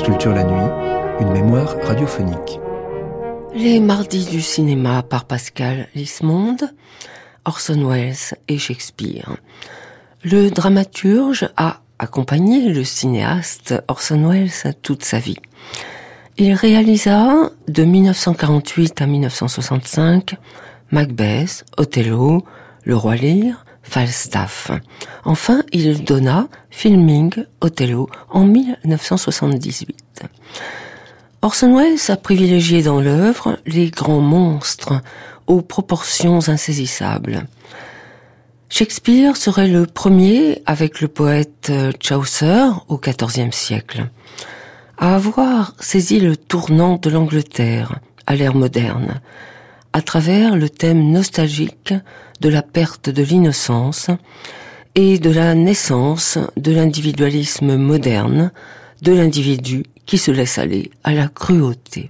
Culture la nuit, une mémoire radiophonique. Les mardis du cinéma par Pascal Lismonde, Orson Welles et Shakespeare. Le dramaturge a accompagné le cinéaste Orson Welles toute sa vie. Il réalisa de 1948 à 1965 Macbeth, Othello, Le Roi Lear, Falstaff. Enfin, il donna Filming Othello en 1978. Orson Welles a privilégié dans l'œuvre les grands monstres aux proportions insaisissables. Shakespeare serait le premier, avec le poète Chaucer au XIVe siècle, à avoir saisi le tournant de l'Angleterre à l'ère moderne, à travers le thème nostalgique de la perte de l'innocence et de la naissance de l'individualisme moderne, de l'individu qui se laisse aller à la cruauté.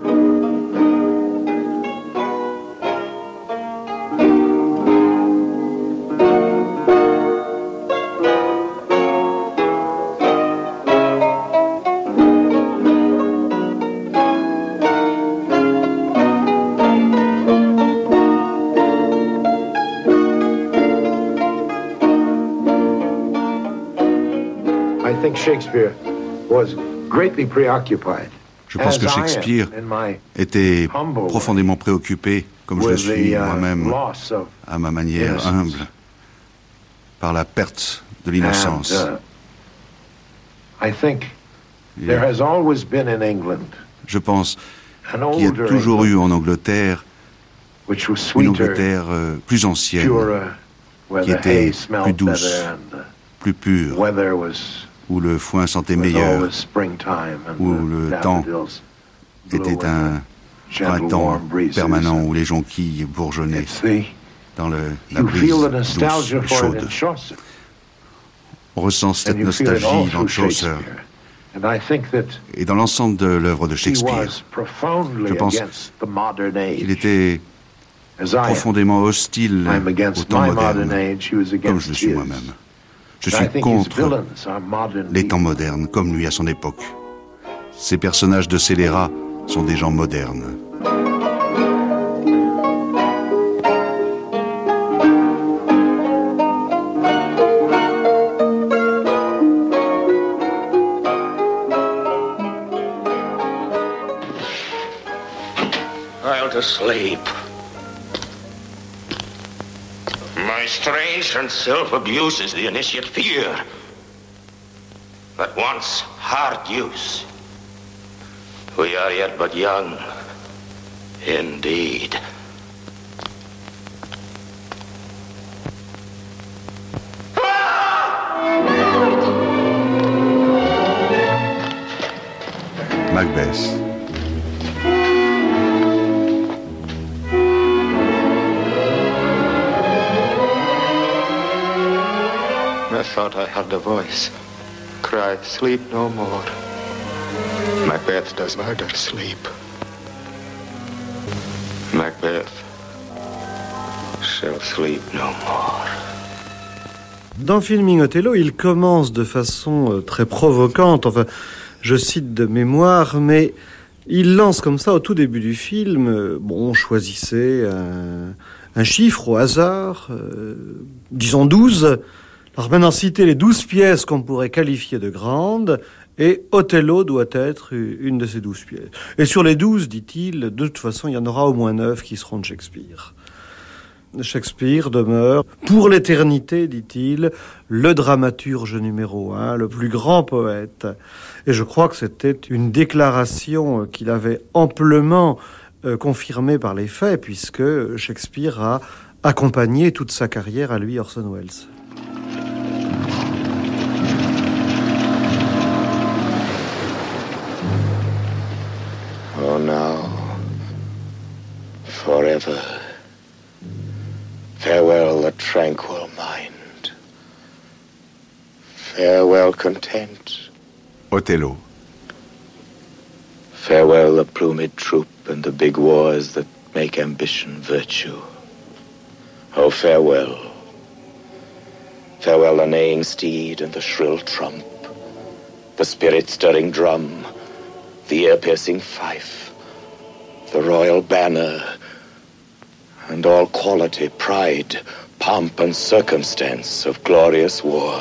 Je pense que Shakespeare était profondément préoccupé, comme je le suis moi-même, à ma manière humble, par la perte de l'innocence. Je pense qu'il y a toujours eu en Angleterre une Angleterre plus ancienne, qui était plus douce, plus pure, où le foin sentait meilleur, où le temps était un printemps permanent, où les jonquilles bourgeonnaient dans la brise douce et chaude. On ressent cette nostalgie dans Chaucer et dans l'ensemble de l'œuvre de Shakespeare. Je pense qu'il était profondément hostile au temps moderne, comme je le suis moi-même. Je suis contre les temps modernes, comme lui à son époque. Ces personnages de scélérats sont des gens modernes. I'll to sleep. My strange and self-abuse is the initiate fear that wants hard use. We are yet but young, indeed. Macbeth. I thought I heard a voice cry, sleep no more. Macbeth does murder sleep. Macbeth shall sleep no more. Dans Filming Othello, il commence de façon très provocante, enfin, je cite de mémoire, mais il lance comme ça au tout début du film, choisissez un chiffre au hasard, disons 12. Alors maintenant, citez les 12 pièces qu'on pourrait qualifier de grandes, et Othello doit être une de ces 12 pièces. Et sur les 12, dit-il, de toute façon, il y en aura au moins 9 qui seront de Shakespeare. Shakespeare demeure, pour l'éternité, dit-il, le dramaturge numéro 1, le plus grand poète. Et je crois que c'était une déclaration qu'il avait amplement confirmée par les faits, puisque Shakespeare a accompagné toute sa carrière à lui, Orson Welles. Oh, now, forever, farewell the tranquil mind, farewell content. Othello. Farewell the plumed troop and the big wars that make ambition virtue. Oh, farewell. Farewell the neighing steed and the shrill trump, the spirit-stirring drum, the ear-piercing fife, the royal banner, and all quality, pride, pomp, and circumstance of glorious war.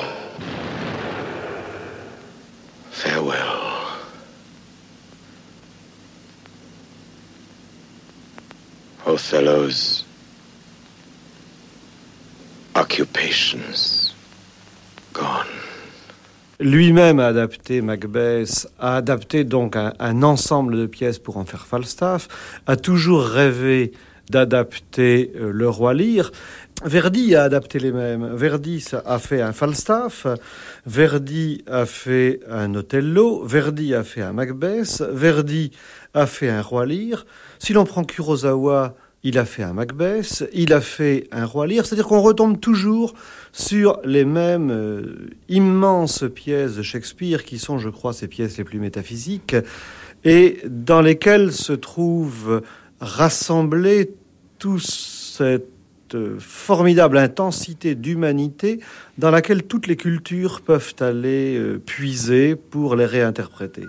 Farewell. Othello's occupations gone. Lui-même a adapté Macbeth, a adapté donc un ensemble de pièces pour en faire Falstaff, a toujours rêvé d'adapter Le Roi Lear. Verdi a adapté les mêmes. Verdi a fait un Falstaff, Verdi a fait un Othello, Verdi a fait un Macbeth, Verdi a fait un Roi Lear. Si l'on prend Kurosawa, il a fait un Macbeth, il a fait un Roi Lear, c'est-à-dire qu'on retombe toujours sur les mêmes immenses pièces de Shakespeare qui sont, je crois, ses pièces les plus métaphysiques et dans lesquelles se trouve rassemblée toute cette formidable intensité d'humanité dans laquelle toutes les cultures peuvent aller puiser pour les réinterpréter.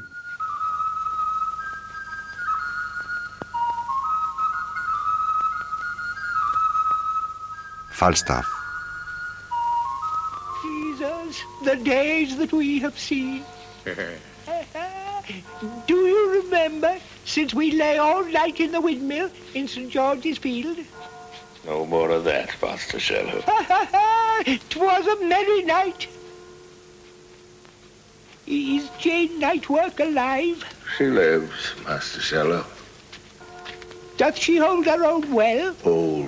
Falstaff. Jesus, the days that we have seen. Do you remember since we lay all night in the windmill in St. George's Field? No more of that, Master Sherlock. 'Twas a merry night. Is Jane Nightwork alive? She lives, Master Sherlock. Doth she hold her own well? Old,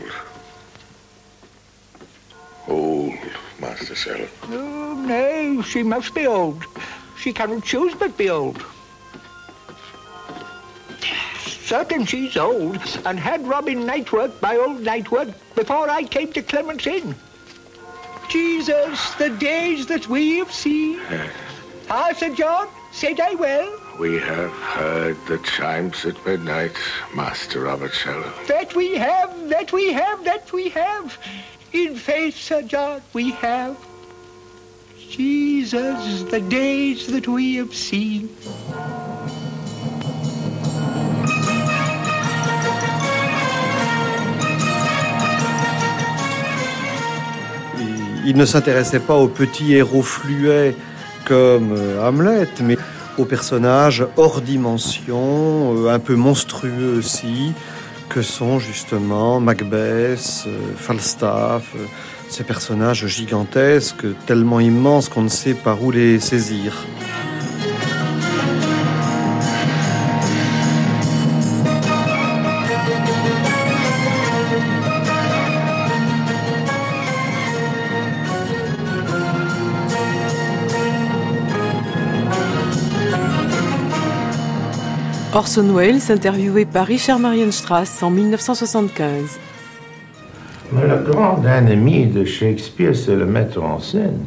Master Sherlock. Oh, no, she must be old. She cannot choose but be old. Certain she's old, and had Robin Nightwork by old Nightwork before I came to Clement's Inn. Jesus, the days that we have seen. Ah, Sir John, said I well? We have heard the chimes at midnight, Master Robert Sherlock. That we have, that we have, that we have. In faith, Sir John, we have. Jesus, the days that we have seen. Il ne s'intéressait pas aux petits héros fluets comme Hamlet, mais aux personnages hors dimension, un peu monstrueux aussi, que sont justement Macbeth, Falstaff, ces personnages gigantesques, tellement immenses qu'on ne sait par où les saisir. Orson Welles, interviewé par Richard Marienstrass en 1975. Mais le grand ennemi de Shakespeare, c'est le metteur en scène.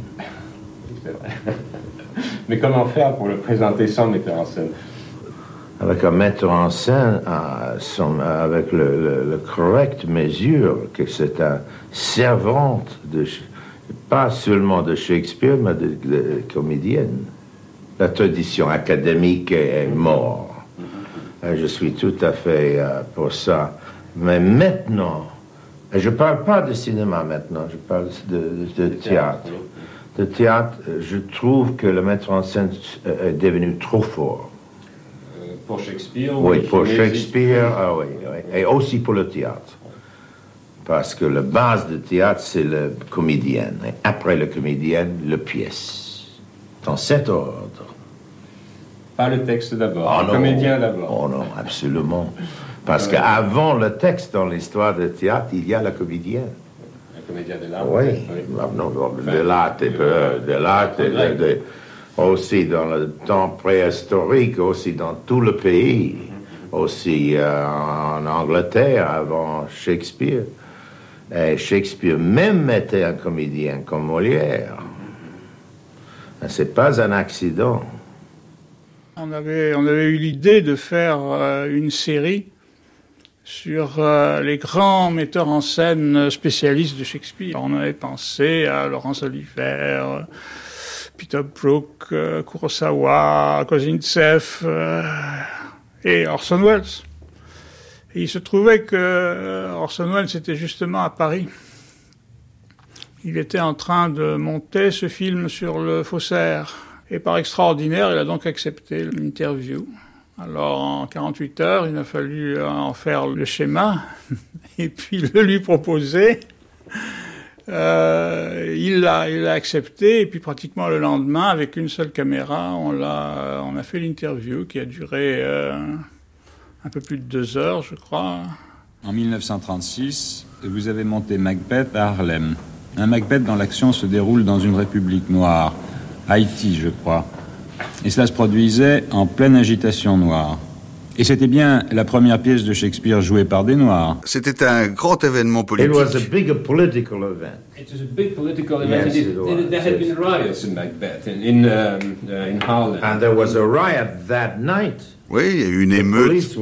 Mais comment faire pour le présenter sans metteur en scène? Avec un metteur en scène, avec le correct mesure que c'est un servante, pas seulement de Shakespeare, mais de comédienne. La tradition académique est morte. Je suis tout à fait pour ça. Mais maintenant, je ne parle pas de cinéma maintenant, je parle de théâtre. De théâtre, je trouve que le metteur en scène est devenu trop fort. Pour Shakespeare? Oui, pour Shakespeare, oui. Et aussi pour le théâtre. Parce que la base du théâtre, c'est le comédien. Et après le comédien, la pièce. Dans cet ordre. Pas le texte d'abord, le comédien d'abord. Oh non, absolument. Parce qu'avant le texte dans l'histoire du théâtre, il y a le comédien. Le comédien de l'art. Oui, de l'art, aussi dans le temps préhistorique, aussi dans tout le pays, aussi en Angleterre avant Shakespeare. Et Shakespeare même mettait un comédien comme Molière. C'est pas un accident. On avait eu l'idée de faire une série sur les grands metteurs en scène spécialistes de Shakespeare. On avait pensé à Laurence Olivier, Peter Brook, Kurosawa, Kozintsev et Orson Welles. Et il se trouvait que Orson Welles était justement à Paris. Il était en train de monter ce film sur le faussaire. Et par extraordinaire, il a donc accepté l'interview. Alors, en 48 heures, il a fallu en faire le schéma et puis le lui proposer. Il l'a accepté et puis pratiquement le lendemain, avec une seule caméra, on a fait l'interview qui a duré un peu plus de 2 heures, je crois. En 1936, vous avez monté Macbeth à Harlem. Un Macbeth dont l'action se déroule dans une république noire, Haïti, je crois. Et cela se produisait en pleine agitation noire. Et c'était bien la première pièce de Shakespeare jouée par des Noirs. C'était un grand événement politique. It was a big political event. It was a big political event. Yes, it was. There had been riots in Macbeth, in Harlem. And there was a riot that night. Oui, il y a eu une émeute.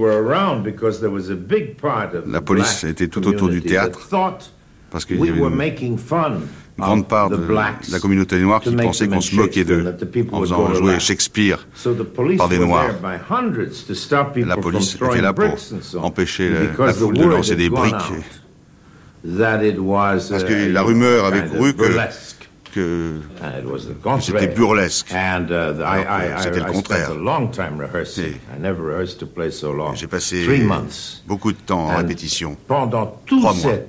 La police était tout autour du théâtre parce qu'il y avait une grande part de la communauté noire qui pensait qu'on se moquait d'eux en faisant jouer Shakespeare par des Noirs. La police était là pour empêcher la foule de lancer des briques. Parce que la rumeur avait couru que c'était burlesque. C'était le contraire. J'ai passé beaucoup de temps en répétition. Pendant tout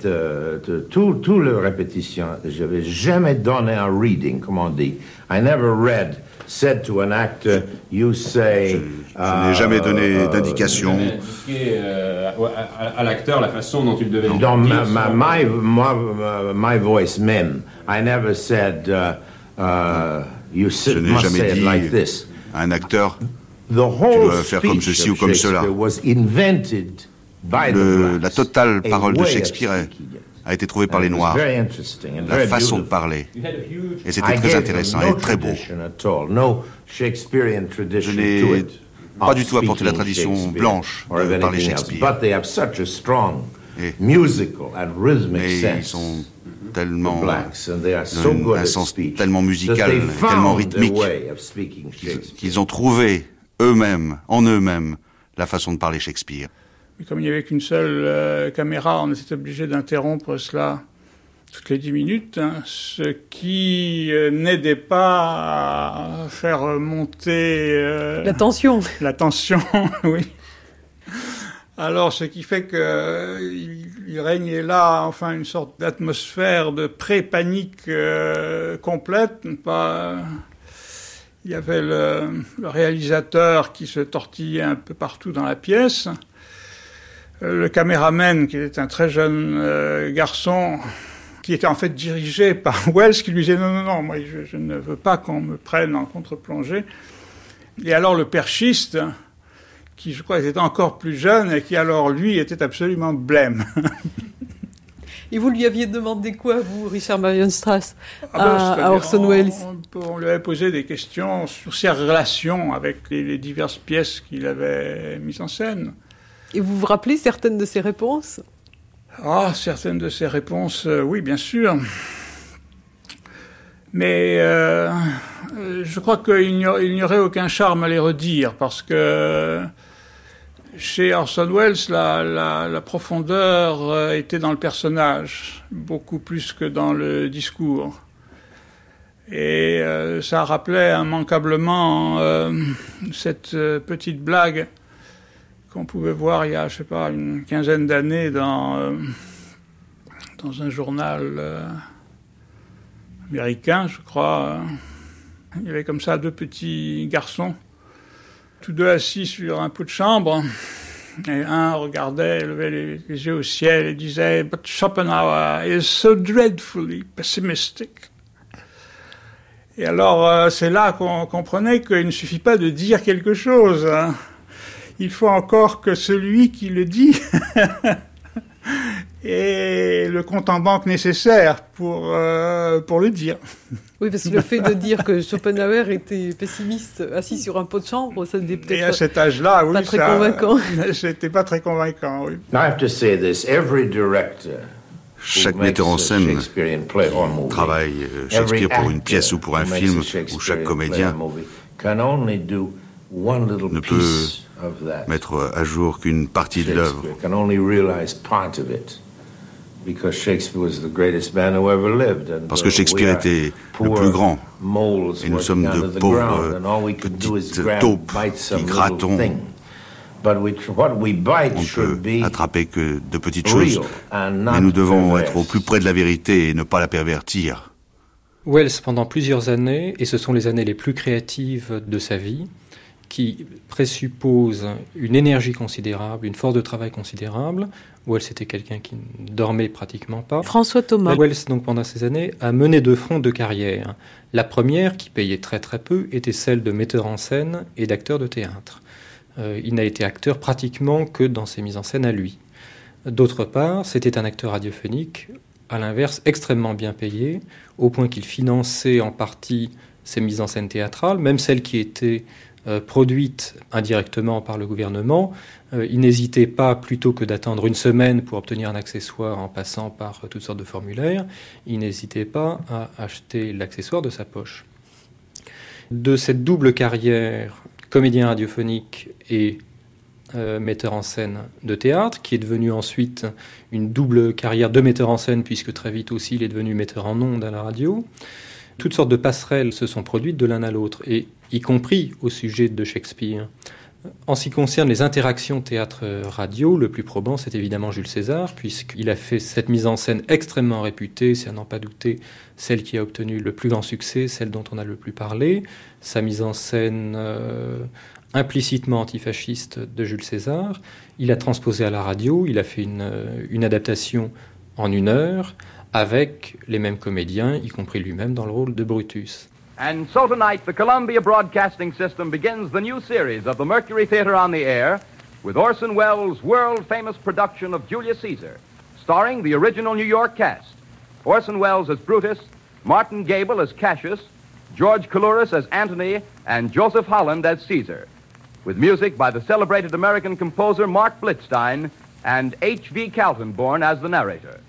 le répétition, je n'avais jamais donné un reading, comme on dit. I never said to an actor, you say... Je n'ai jamais donné d'indication. À l'acteur la façon dont il devait... Dans my voice, men, I never said, you must say it like this. À un acteur, tu dois faire comme ceci ou comme cela. La totale parole de Shakespeare a été trouvée par les Noirs. La façon de parler. Et c'était très intéressant et très beau. Je n'ai pas du tout apporté la tradition blanche de parler Shakespeare. Mais ils sont tellement un sens tellement musical, tellement rythmique, qu'ils ont trouvé en eux-mêmes, la façon de parler Shakespeare. Mais comme il n'y avait qu'une seule caméra, on était obligé d'interrompre cela toutes les 10 minutes, ce qui n'aidait pas à faire monter... la tension. La tension, oui. Alors, ce qui fait qu'il régnait là, enfin, une sorte d'atmosphère de pré-panique complète. Il y avait le réalisateur qui se tortillait un peu partout dans la pièce. Le caméraman, qui était un très jeune garçon, qui était en fait dirigé par Welles, qui lui disait « Non, moi je ne veux pas qu'on me prenne en contre-plongée ». Et alors le perchiste, qui je crois était encore plus jeune, et qui alors lui était absolument blême. Et vous lui aviez demandé quoi, vous, Richard Marion Strass, à Orson Welles? On lui avait posé des questions sur ses relations avec les diverses pièces qu'il avait mises en scène. Et vous vous rappelez certaines de ses réponses? Certaines de ses réponses, oui, bien sûr. Mais je crois qu'il n'y aurait aucun charme à les redire, parce que chez Orson Welles, la profondeur était dans le personnage, beaucoup plus que dans le discours. Et ça rappelait immanquablement cette petite blague qu'on pouvait voir il y a, je sais pas, une quinzaine d'années dans un journal américain, je crois. Il y avait comme ça 2 petits garçons, tous 2 assis sur un pot de chambre, et un regardait, levait les yeux au ciel et disait « But Schopenhauer is so dreadfully pessimistic ». Et alors, c'est là qu'on comprenait qu'il ne suffit pas de dire quelque chose, hein. Il faut encore que celui qui le dit ait le compte en banque nécessaire pour le dire. Oui, parce que le fait de dire que Schopenhauer était pessimiste assis sur un pot de chambre, ça n'était peut-être et à cet âge-là, oui, pas très convaincant. C'était pas très convaincant, oui. I have to say this, every director Chaque metteur en scène travaille Shakespeare pour une pièce ou pour un film, où chaque comédien ne peut mettre à jour qu'une partie de l'œuvre. Parce que Shakespeare était le plus grand, et nous sommes de pauvres petites taupes qui grattons. On ne peut attraper que de petites choses, mais nous devons être au plus près de la vérité et ne pas la pervertir. Welles, pendant plusieurs années, et ce sont les années les plus créatives de sa vie, qui présupposent une énergie considérable, une force de travail considérable. Welles était quelqu'un qui ne dormait pratiquement pas. François Thomas. Welles, donc, pendant ces années, a mené de front deux carrières. La première, qui payait très très peu, était celle de metteur en scène et d'acteur de théâtre. Il n'a été acteur pratiquement que dans ses mises en scène à lui. D'autre part, c'était un acteur radiophonique, à l'inverse, extrêmement bien payé, au point qu'il finançait en partie ses mises en scène théâtrales, même celles qui étaient produites indirectement par le gouvernement. Il n'hésitait pas, plutôt que d'attendre une semaine pour obtenir un accessoire en passant par toutes sortes de formulaires, il n'hésitait pas à acheter l'accessoire de sa poche. De cette double carrière, comédien radiophonique et metteur en scène de théâtre, qui est devenu ensuite une double carrière de metteur en scène, puisque très vite aussi il est devenu metteur en ondes à la radio. Toutes sortes de passerelles se sont produites de l'un à l'autre, et y compris au sujet de Shakespeare. En ce qui concerne les interactions théâtre-radio, le plus probant, c'est évidemment Jules César, puisqu'il a fait cette mise en scène extrêmement réputée, c'est à n'en pas douter celle qui a obtenu le plus grand succès, celle dont on a le plus parlé. Sa mise en scène implicitement antifasciste de Jules César. Il a transposé à la radio, il a fait une adaptation en 1 heure, avec les mêmes comédiens, y compris lui-même dans le rôle de Brutus. And so tonight, the Columbia Broadcasting System begins the new series of the Mercury Theater on the Air with Orson Welles' world-famous production of Julius Caesar, starring the original New York cast. Orson Welles as Brutus, Martin Gable as Cassius, George Coulouris as Antony, and Joseph Holland as Caesar, with music by the celebrated American composer Mark Blitzstein and H.V. Kaltenborn as the narrator.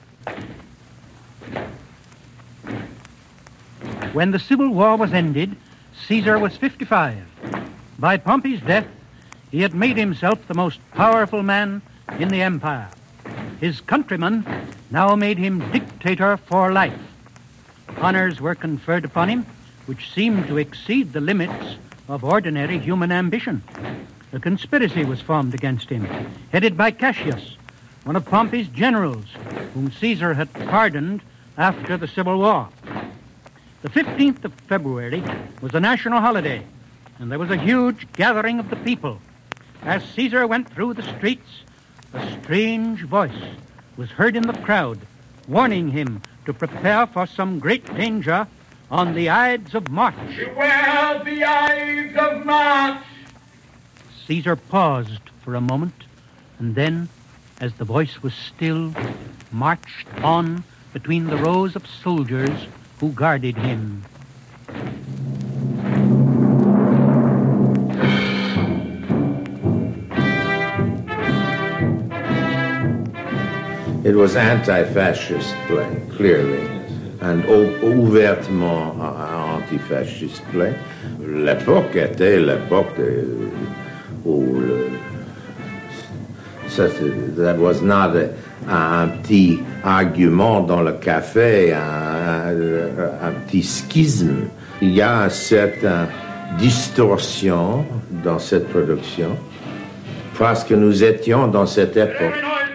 When the Civil War was ended, Caesar was 55. By Pompey's death, he had made himself the most powerful man in the empire. His countrymen now made him dictator for life. Honors were conferred upon him, which seemed to exceed the limits of ordinary human ambition. A conspiracy was formed against him, headed by Cassius, one of Pompey's generals, whom Caesar had pardoned after the Civil War. The 15th of February was a national holiday, and there was a huge gathering of the people. As Caesar went through the streets, a strange voice was heard in the crowd, warning him to prepare for some great danger on the Ides of March. Beware the Ides of March! Caesar paused for a moment, and then, as the voice was still, marched on between the rows of soldiers who guarded him. It was anti-fascist play, clearly, and ouvertement anti-fascist play. L'époque était l'époque où that was not un petit argument dans le café, un petit schisme. Il y a une certaine distorsion dans cette production parce que nous étions dans cette époque.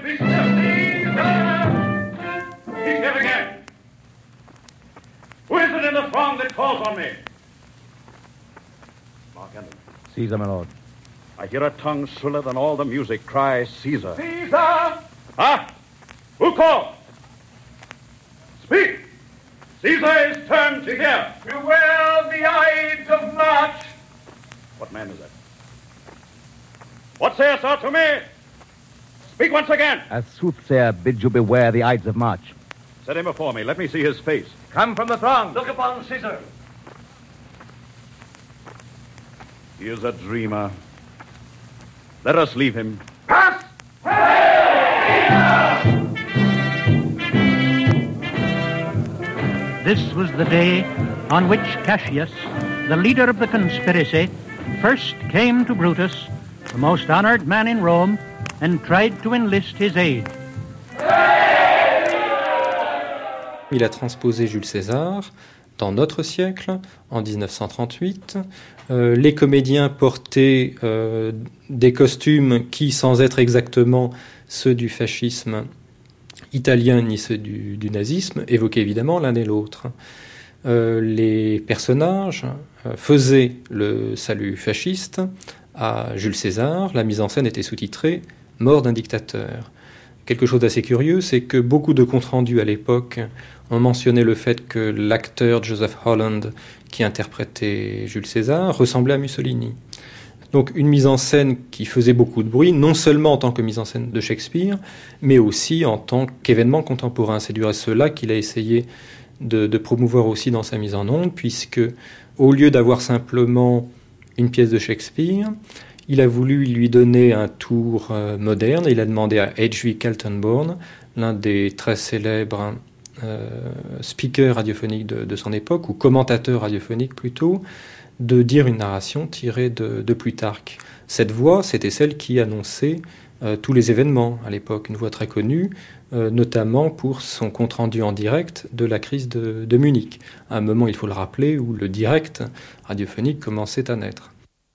Who is it in the throng that calls on me? Mark Henry. Caesar, my lord. I hear a tongue shriller than all the music cry, Caesar. Caesar! Ah! Who calls? Speak! Caesar is turned to hear. Beware the Ides of March! What man is that? What sayest thou to me? Speak once again! As soothsayer bids you beware the Ides of March. Set him before me. Let me see his face. Come from the throng. Look upon Caesar. He is a dreamer. Let us leave him. Pass! this was the day on which Cassius, the leader of the conspiracy, first came to Brutus, the most honored man in Rome, and tried to enlist his aid. Il a transposé Jules César dans notre siècle, en 1938. Les comédiens portaient des costumes qui, sans être exactement ceux du fascisme italien ni ceux du nazisme, évoquaient évidemment l'un et l'autre. Les personnages faisaient le salut fasciste à Jules César. La mise en scène était sous-titrée « Mort d'un dictateur ». Quelque chose d'assez curieux, c'est que beaucoup de comptes rendus à l'époque ont mentionné le fait que l'acteur Joseph Holland, qui interprétait Jules César, ressemblait à Mussolini. Donc une mise en scène qui faisait beaucoup de bruit, non seulement en tant que mise en scène de Shakespeare, mais aussi en tant qu'événement contemporain. C'est du reste cela qu'il a essayé de promouvoir aussi dans sa mise en onde, puisque au lieu d'avoir simplement une pièce de Shakespeare, il a voulu lui donner un tour moderne. Il a demandé à H.V. Kaltenborn, l'un des très célèbres speakers radiophoniques de son époque, ou commentateurs radiophoniques plutôt, de dire une narration tirée de Plutarque. Cette voix, c'était celle qui annonçait tous les événements à l'époque, une voix très connue, notamment pour son compte-rendu en direct de la crise de Munich, à un moment, il faut le rappeler, où le direct radiophonique commençait à naître.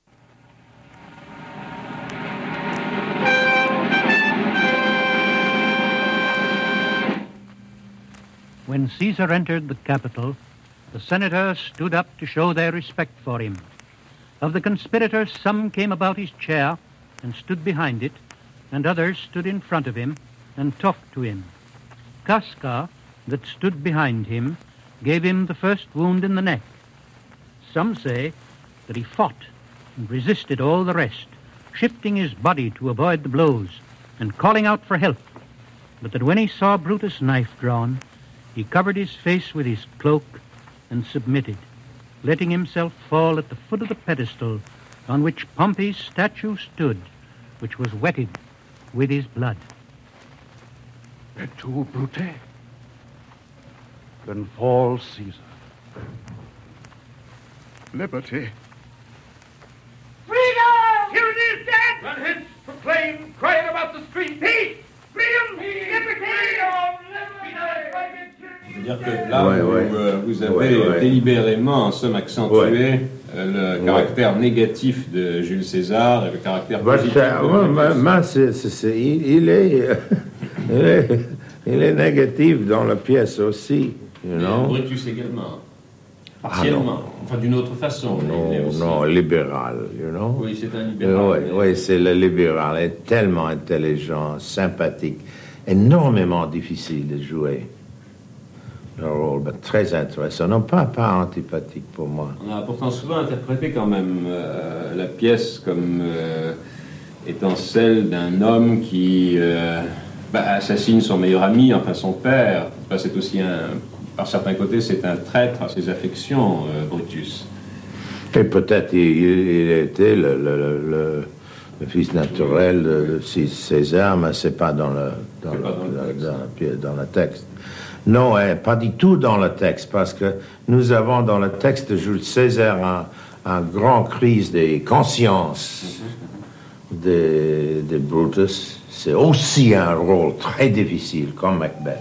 When Caesar entered the capital, the senators stood up to show their respect for him. Of the conspirators, some came about his chair and stood behind it, and others stood in front of him and talked to him. Casca, that stood behind him, gave him the first wound in the neck. Some say that he fought and resisted all the rest, shifting his body to avoid the blows and calling out for help, but that when he saw Brutus' knife drawn, he covered his face with his cloak and submitted, letting himself fall at the foot of the pedestal on which Pompey's statue stood, which was wetted with his blood. Et tu, Brute? Then fall Caesar. Liberty. Freedom! Here it is, dead! Run hence, proclaim, crying about the street. Peace! Freedom! Liberty! C'est-à-dire que là, vous avez délibérément, en somme, accentué le caractère négatif de Jules César et le caractère positif il est négatif dans la pièce aussi. Brutus également. Partiellement. Enfin, d'une autre façon. Non, libéral, Oui, c'est un libéral. Oui, c'est le libéral. Il est tellement intelligent, sympathique, énormément difficile de jouer. Le rôle, mais très intéressant. Non, pas antipathique pour moi. On a pourtant souvent interprété quand même la pièce comme étant celle d'un homme qui assassine son meilleur ami, enfin son père. C'est aussi par certains côtés, c'est un traître à ses affections, Brutus. Et peut-être il était le fils naturel de César, mais c'est pas dans le texte. Non, pas du tout dans le texte, parce que nous avons dans le texte de Jules César un grand crise des consciences de Brutus. C'est aussi un rôle très difficile, comme Macbeth.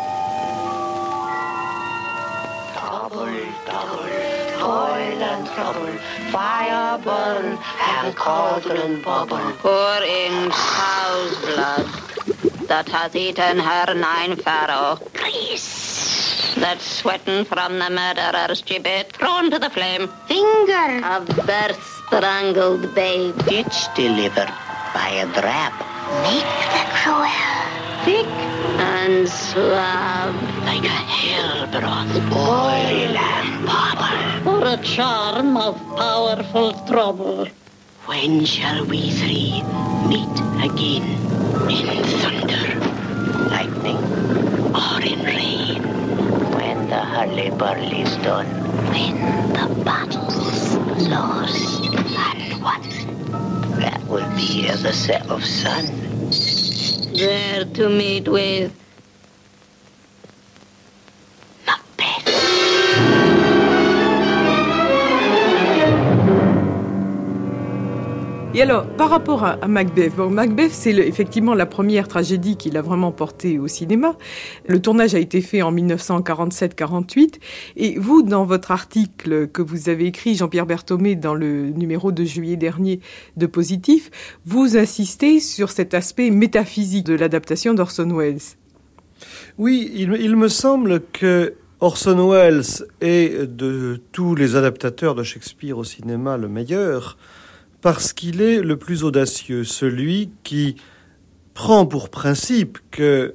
Fire burn and cauldron bubble, pouring cow's blood that hath eaten her 9 farrow. Grease that's sweating from the murderer's gibbet, thrown to the flame. Finger of birth strangled babe, ditch delivered by a drab. Make the cruel thick and suave, like a hell broth, boil and bubble, or a charm of powerful trouble. When shall we three meet again? In thunder, lightning, or in rain? When the hurly-burly's done, when the battle's lost and won, that will be at the set of sun. There to meet with Macbeth. Et alors, par rapport à Macbeth, bon, Macbeth, c'est effectivement la première tragédie qu'il a vraiment portée au cinéma. Le tournage a été fait en 1947-48. Et vous, dans votre article que vous avez écrit, Jean-Pierre Berthomé, dans le numéro de juillet dernier de Positif, vous insistez sur cet aspect métaphysique de l'adaptation d'Orson Welles. Oui, il me semble que Orson Welles est de tous les adaptateurs de Shakespeare au cinéma le meilleur, parce qu'il est le plus audacieux, celui qui prend pour principe que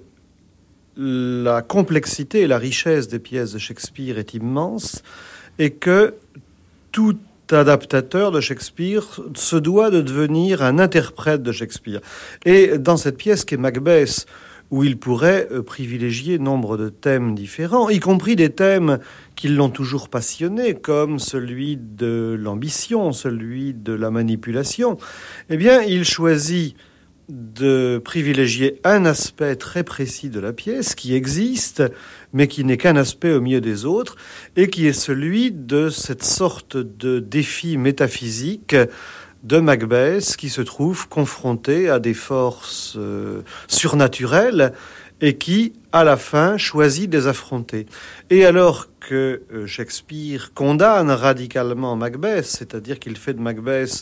la complexité et la richesse des pièces de Shakespeare est immense et que tout adaptateur de Shakespeare se doit de devenir un interprète de Shakespeare. Et dans cette pièce qu'est Macbeth, où il pourrait privilégier nombre de thèmes différents, y compris des thèmes qui l'ont toujours passionné, comme celui de l'ambition, celui de la manipulation, eh bien, il choisit de privilégier un aspect très précis de la pièce qui existe, mais qui n'est qu'un aspect au milieu des autres, et qui est celui de cette sorte de défi métaphysique de Macbeth qui se trouve confronté à des forces surnaturelles et qui, à la fin, choisit de les affronter. Et alors que Shakespeare condamne radicalement Macbeth, c'est-à-dire qu'il fait de Macbeth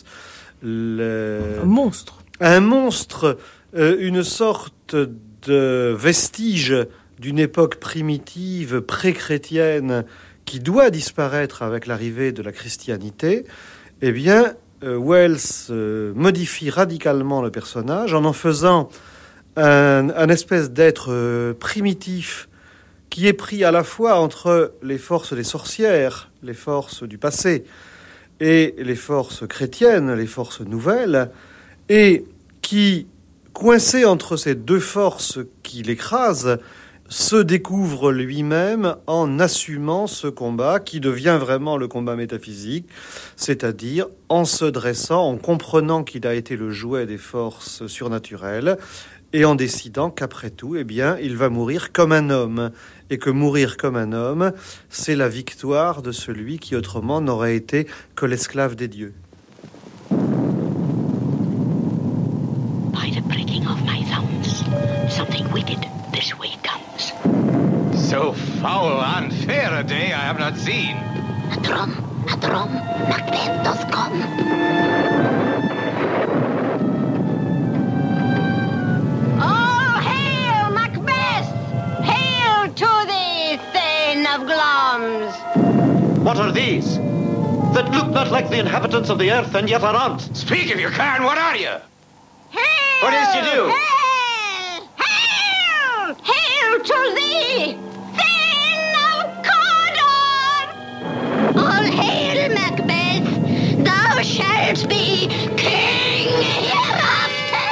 un monstre, une sorte de vestige d'une époque primitive, pré-chrétienne, qui doit disparaître avec l'arrivée de la christianité, eh bien, Wells modifie radicalement le personnage en faisant un espèce d'être primitif qui est pris à la fois entre les forces des sorcières, les forces du passé, et les forces chrétiennes, les forces nouvelles, et qui, coincé entre ces deux forces qui l'écrasent, se découvre lui-même en assumant ce combat qui devient vraiment le combat métaphysique, c'est-à-dire en se dressant, en comprenant qu'il a été le jouet des forces surnaturelles et en décidant qu'après tout, eh bien, il va mourir comme un homme et que mourir comme un homme, c'est la victoire de celui qui autrement n'aurait été que l'esclave des dieux. By the breaking of my thumbs, something wicked this way comes. So foul, unfair a day I have not seen. A drum, Macbeth doth come. All hail, Macbeth! Hail to thee, Thane of Glamis! What are these? That look not like the inhabitants of the earth and yet are armed. Speak if you can, what are you? Hail! What is you do? Hail! Hail! Hail to thee, Thane of Cawdor! All hail, Macbeth! Thou shalt be king hereafter!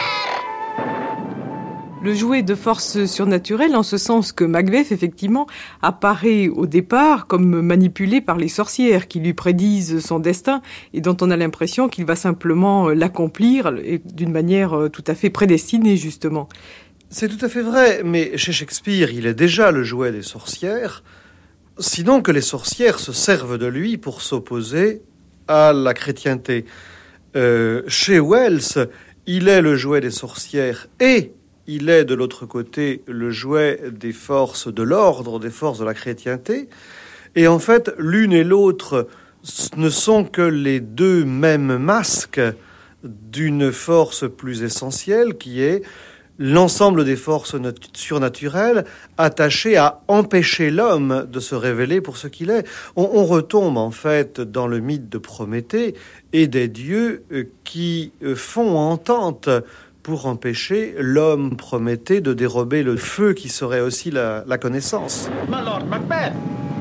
Le jouet de force surnaturelle, en ce sens que Macbeth, effectivement, apparaît au départ comme manipulé par les sorcières qui lui prédisent son destin et dont on a l'impression qu'il va simplement l'accomplir d'une manière tout à fait prédestinée, justement. C'est tout à fait vrai, mais chez Shakespeare, il est déjà le jouet des sorcières, sinon que les sorcières se servent de lui pour s'opposer à la chrétienté. Chez Wells, il est le jouet des sorcières et il est de l'autre côté le jouet des forces de l'ordre, des forces de la chrétienté. Et en fait, l'une et l'autre ne sont que les deux mêmes masques d'une force plus essentielle qui est l'ensemble des forces surnaturelles attachées à empêcher l'homme de se révéler pour ce qu'il est. On retombe en fait dans le mythe de Prométhée et des dieux qui font entente pour empêcher l'homme Prométhée de dérober le feu qui serait aussi la connaissance. My Lord Macbeth!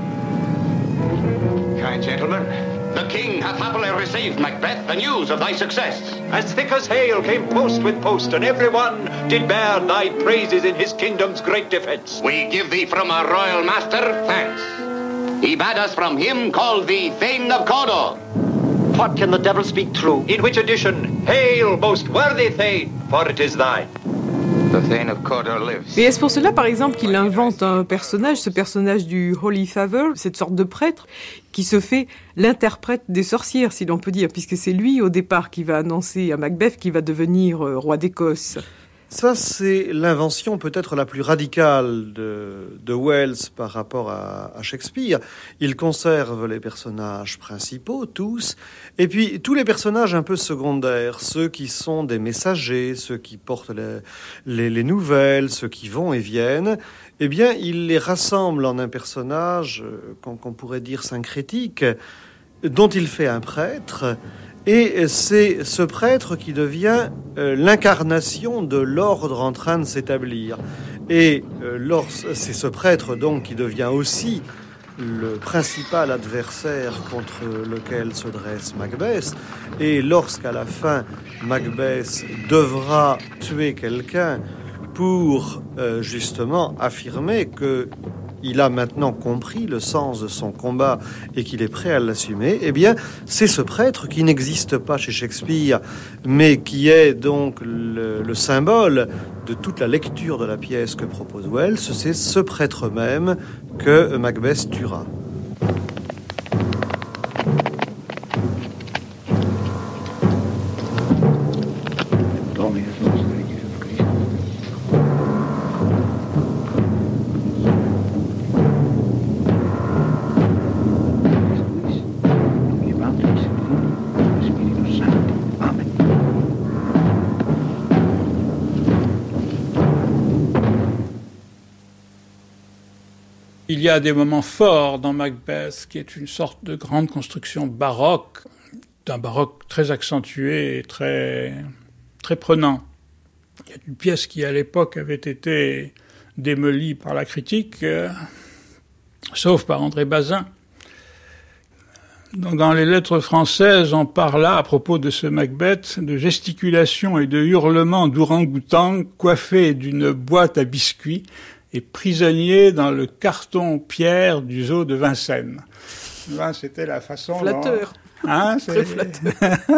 Kind gentlemen, the king hath happily received, Macbeth, the news of thy success. As thick as hail came post with post, and every one did bear thy praises in his kingdom's great defence. We give thee from our royal master thanks. He bade us from him call thee Thane of Cawdor. What can the devil speak true? In which edition, hail, most worthy Thane, for it is thine. Mais est-ce pour cela, par exemple, qu'il invente un personnage, ce personnage du Holy Father, cette sorte de prêtre, qui se fait l'interprète des sorcières, si l'on peut dire, puisque c'est lui, au départ, qui va annoncer à Macbeth qu'il va devenir roi d'Écosse. Ça, c'est l'invention peut-être la plus radicale de Wells par rapport à Shakespeare. Il conserve les personnages principaux, tous, et puis tous les personnages un peu secondaires, ceux qui sont des messagers, ceux qui portent les nouvelles, ceux qui vont et viennent, eh bien, il les rassemble en un personnage qu'on pourrait dire syncrétique, dont il fait un prêtre. Et c'est ce prêtre qui devient l'incarnation de l'ordre en train de s'établir. Et c'est ce prêtre donc qui devient aussi le principal adversaire contre lequel se dresse Macbeth. Et lorsqu'à la fin, Macbeth devra tuer quelqu'un pour justement affirmer que il a maintenant compris le sens de son combat et qu'il est prêt à l'assumer, eh bien, c'est ce prêtre qui n'existe pas chez Shakespeare, mais qui est donc le symbole de toute la lecture de la pièce que propose Wells. C'est ce prêtre même que Macbeth tuera. Il y a des moments forts dans Macbeth, qui est une sorte de grande construction baroque, d'un baroque très accentué et très, très prenant. Il y a une pièce qui, à l'époque, avait été démolie par la critique, sauf par André Bazin. Donc, dans les lettres françaises, on parla, à propos de ce Macbeth, de gesticulation et de hurlements d'ourang-outang coiffés d'une boîte à biscuits et prisonnier dans le carton-pierre du zoo de Vincennes. Là, c'était la façon... Flatteur. Hein, très flatteur.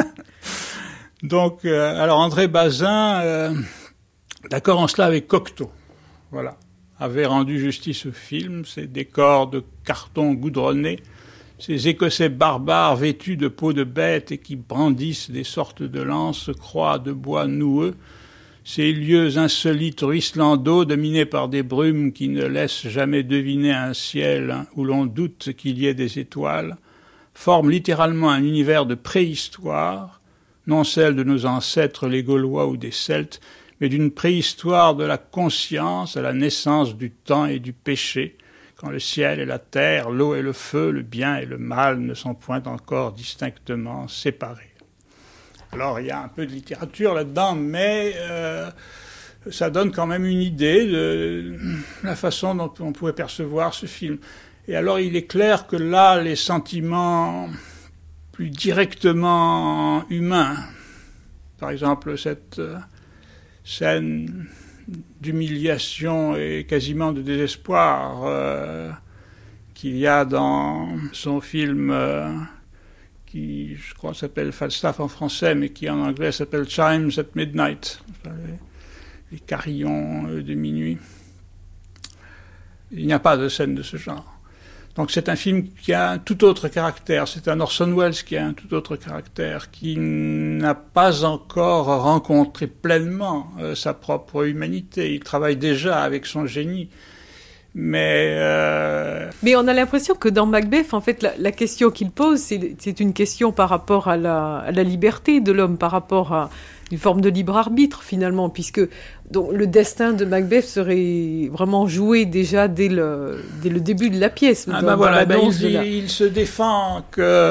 Donc, alors André Bazin, d'accord en cela avec Cocteau, voilà, avait rendu justice au film, ces décors de carton goudronné, ces Écossais barbares vêtus de peau de bête et qui brandissent des sortes de lances-croix de bois noueux, ces lieux insolites ruisselands dominés par des brumes qui ne laissent jamais deviner un ciel où l'on doute qu'il y ait des étoiles, forment littéralement un univers de préhistoire, non celle de nos ancêtres les Gaulois ou des Celtes, mais d'une préhistoire de la conscience à la naissance du temps et du péché, quand le ciel et la terre, l'eau et le feu, le bien et le mal ne sont point encore distinctement séparés. Alors, il y a un peu de littérature là-dedans, mais ça donne quand même une idée de la façon dont on pouvait percevoir ce film. Et alors, il est clair que là, les sentiments plus directement humains, par exemple cette scène d'humiliation et quasiment de désespoir qu'il y a dans son film... qui, je crois, s'appelle Falstaff en français, mais qui en anglais s'appelle Chimes at Midnight, les carillons de minuit. Il n'y a pas de scène de ce genre. Donc c'est un film qui a un tout autre caractère, c'est un Orson Welles qui a un tout autre caractère, qui n'a pas encore rencontré pleinement sa propre humanité. Il travaille déjà avec son génie. Mais on a l'impression que dans Macbeth, en fait, la question qu'il pose, c'est une question par rapport à la liberté de l'homme, par rapport à une forme de libre arbitre, finalement, puisque donc, le destin de Macbeth serait vraiment joué déjà dès le début de la pièce. Voilà, il se défend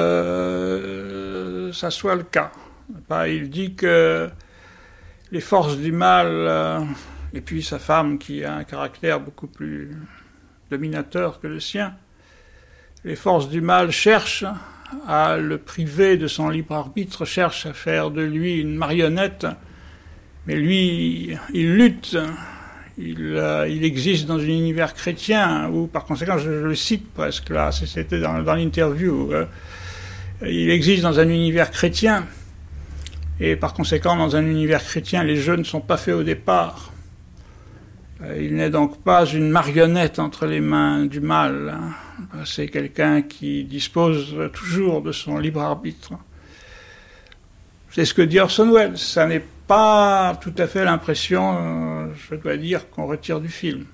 que ça soit le cas. Il dit que les forces du mal... et puis sa femme, qui a un caractère beaucoup plus dominateur que le sien, les forces du mal cherchent à le priver de son libre arbitre, cherchent à faire de lui une marionnette, mais lui, il lutte, il existe dans un univers chrétien, où par conséquent, je le cite presque là, c'était dans l'interview, il existe dans un univers chrétien, et par conséquent, dans un univers chrétien, les jeux ne sont pas faits au départ. Il n'est donc pas une marionnette entre les mains du mal. C'est quelqu'un qui dispose toujours de son libre arbitre. C'est ce que dit Orson Welles. Ça n'est pas tout à fait l'impression, je dois dire, qu'on retire du film.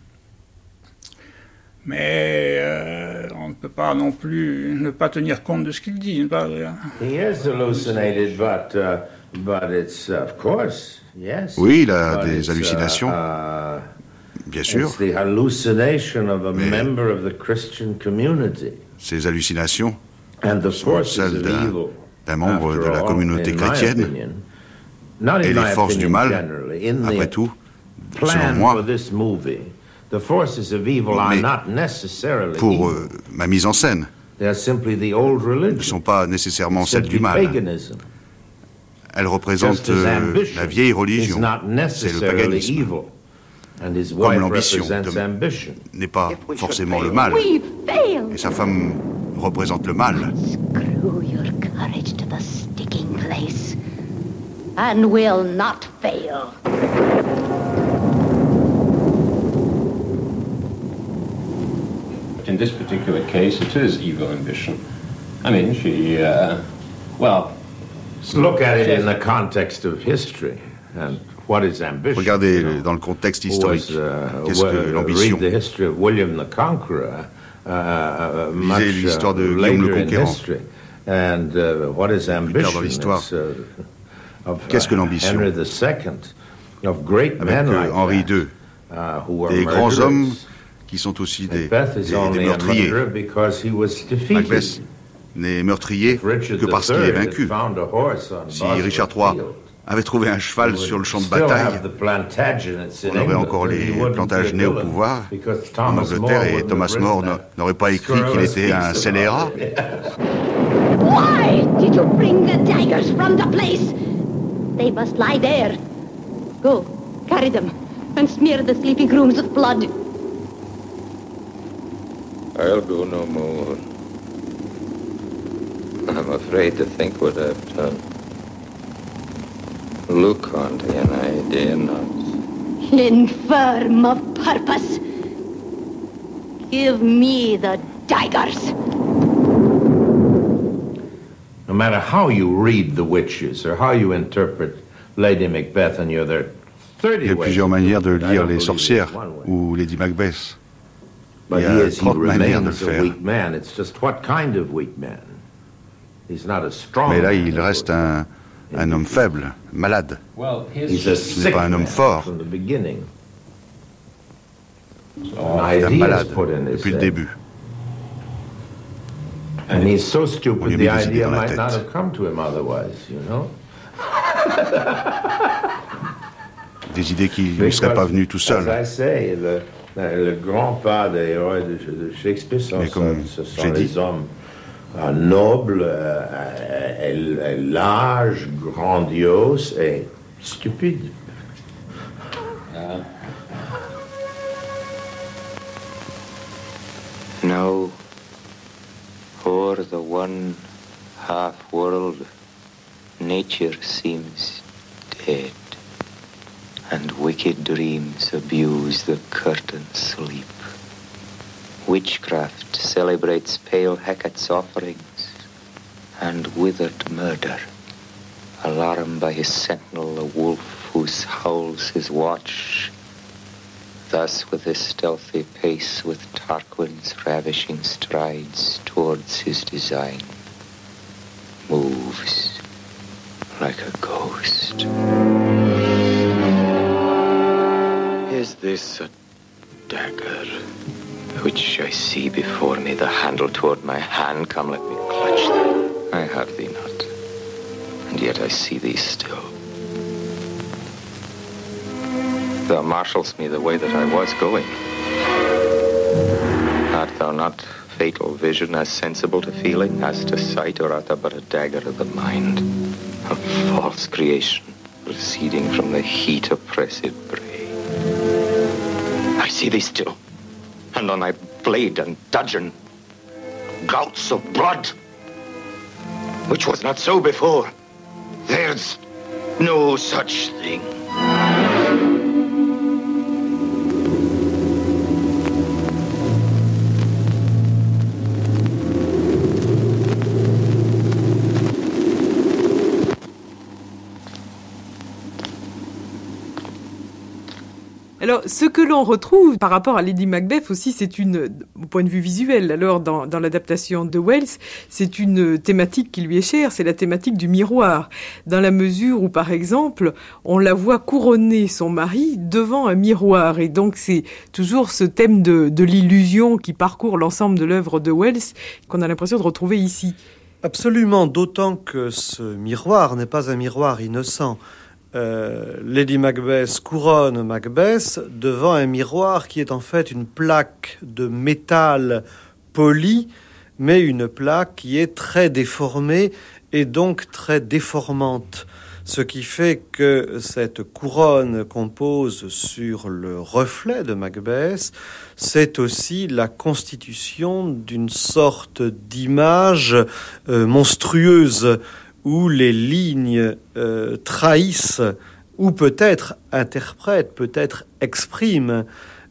Mais on ne peut pas non plus ne pas tenir compte de ce qu'il dit. He is hallucinated, but it's of course, yes. Oui, il a des hallucinations. Bien sûr. It's the hallucination of a member of the Christian community. Ces hallucinations sont celles d'un membre de la communauté chrétienne. Et les forces du mal, après tout, selon moi, mais pour ma mise en scène, ne sont pas nécessairement celles du mal. Elles représentent la vieille religion, c'est le paganisme. Comme l'ambition n'est pas forcément le mal. Et sa femme représente le mal. Screw your courage to the sticking place, and will not fail. In this particular case, it is evil ambition. I mean, she, well... Look at it in the context of history, and what is ambition? Regardez dans le contexte historique. Qu'est-ce que l'ambition? Read the history of William the Conqueror. Lisez l'histoire de Guillaume le Conquérant. And what is ambition? Dans l'histoire. Qu'est-ce que l'ambition? Avec Henri II, des grands hommes qui sont aussi des meurtriers. Macbeth n'est meurtrier que parce qu'il est vaincu. Si Richard III avait trouvé un cheval sur le champ de bataille, on aurait encore les Plantagenets au pouvoir en Angleterre et Thomas More n'aurait pas écrit qu'il était un scélérat. Why did you bring the daggers from the place? They must lie there. Go, carry them, and smear the sleepy grooms with blood. I'll go no more. I'm afraid to think what I've done. Look on thee, and I dare not. Infirm of purpose. Give me the daggers. No matter how you read The Witches or how you interpret Lady Macbeth, and you're there 30 Il y a plusieurs manières de lire Les Sorcières ou Lady Macbeth. But Il y a 30 manières de le faire. Mais là, il reste un homme faible, malade. Ce n'est pas un homme fort. C'est un malade depuis le début. And he's so stupid, On lui the a mis des idées idea dans la might tête. not have come to him otherwise, you know? Des idées qui ne lui seraient pas venues tout seul. As I say, le grand pas des héros de Shakespeare sont les hommes nobles, larges, grandioses et stupides. Now, o'er the one half-world, nature seems dead, and wicked dreams abuse the curtained sleep. Witchcraft celebrates pale Hecate's offerings, and withered murder, alarmed by his sentinel, a wolf who howls his watch. Thus with his stealthy pace, with Tarquin's ravishing strides towards his design, moves like a ghost. Is this a dagger which I see before me, the handle toward my hand? Come, let me clutch thee. I have thee not, and yet I see thee still. Thou marshals me the way that I was going. Art thou not fatal vision, as sensible to feeling as to sight, or art thou but a dagger of the mind, a false creation proceeding from the heat oppressive brain? I see thee still, and on thy blade and dudgeon gouts of blood, which was not so before. There's no such thing. Alors, ce que l'on retrouve par rapport à Lady Macbeth aussi, au point de vue visuel, alors dans l'adaptation de Wells, c'est une thématique qui lui est chère, c'est la thématique du miroir. Dans la mesure où, par exemple, on la voit couronner son mari devant un miroir. Et donc, c'est toujours ce thème de l'illusion qui parcourt l'ensemble de l'œuvre de Wells qu'on a l'impression de retrouver ici. Absolument, d'autant que ce miroir n'est pas un miroir innocent. Lady Macbeth couronne Macbeth devant un miroir qui est en fait une plaque de métal poli, mais une plaque qui est très déformée et donc très déformante. Ce qui fait que cette couronne qu'on pose sur le reflet de Macbeth, c'est aussi la constitution d'une sorte d'image monstrueuse où les lignes trahissent ou peut-être interprètent, peut-être expriment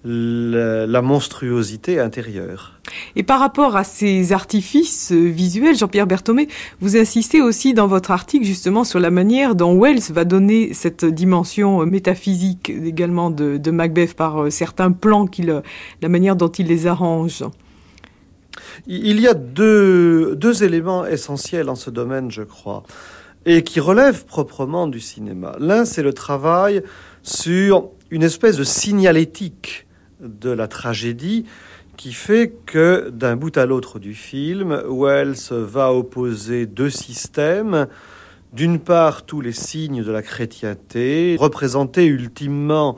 la monstruosité intérieure. Et par rapport à ces artifices visuels, Jean-Pierre Berthomé, vous insistez aussi dans votre article justement sur la manière dont Wells va donner cette dimension métaphysique également de Macbeth par certains plans, la manière dont il les arrange. Il y a deux éléments essentiels en ce domaine, je crois, et qui relèvent proprement du cinéma. L'un, c'est le travail sur une espèce de signalétique de la tragédie qui fait que d'un bout à l'autre du film, Wells va opposer deux systèmes. D'une part, tous les signes de la chrétienté, représentés ultimement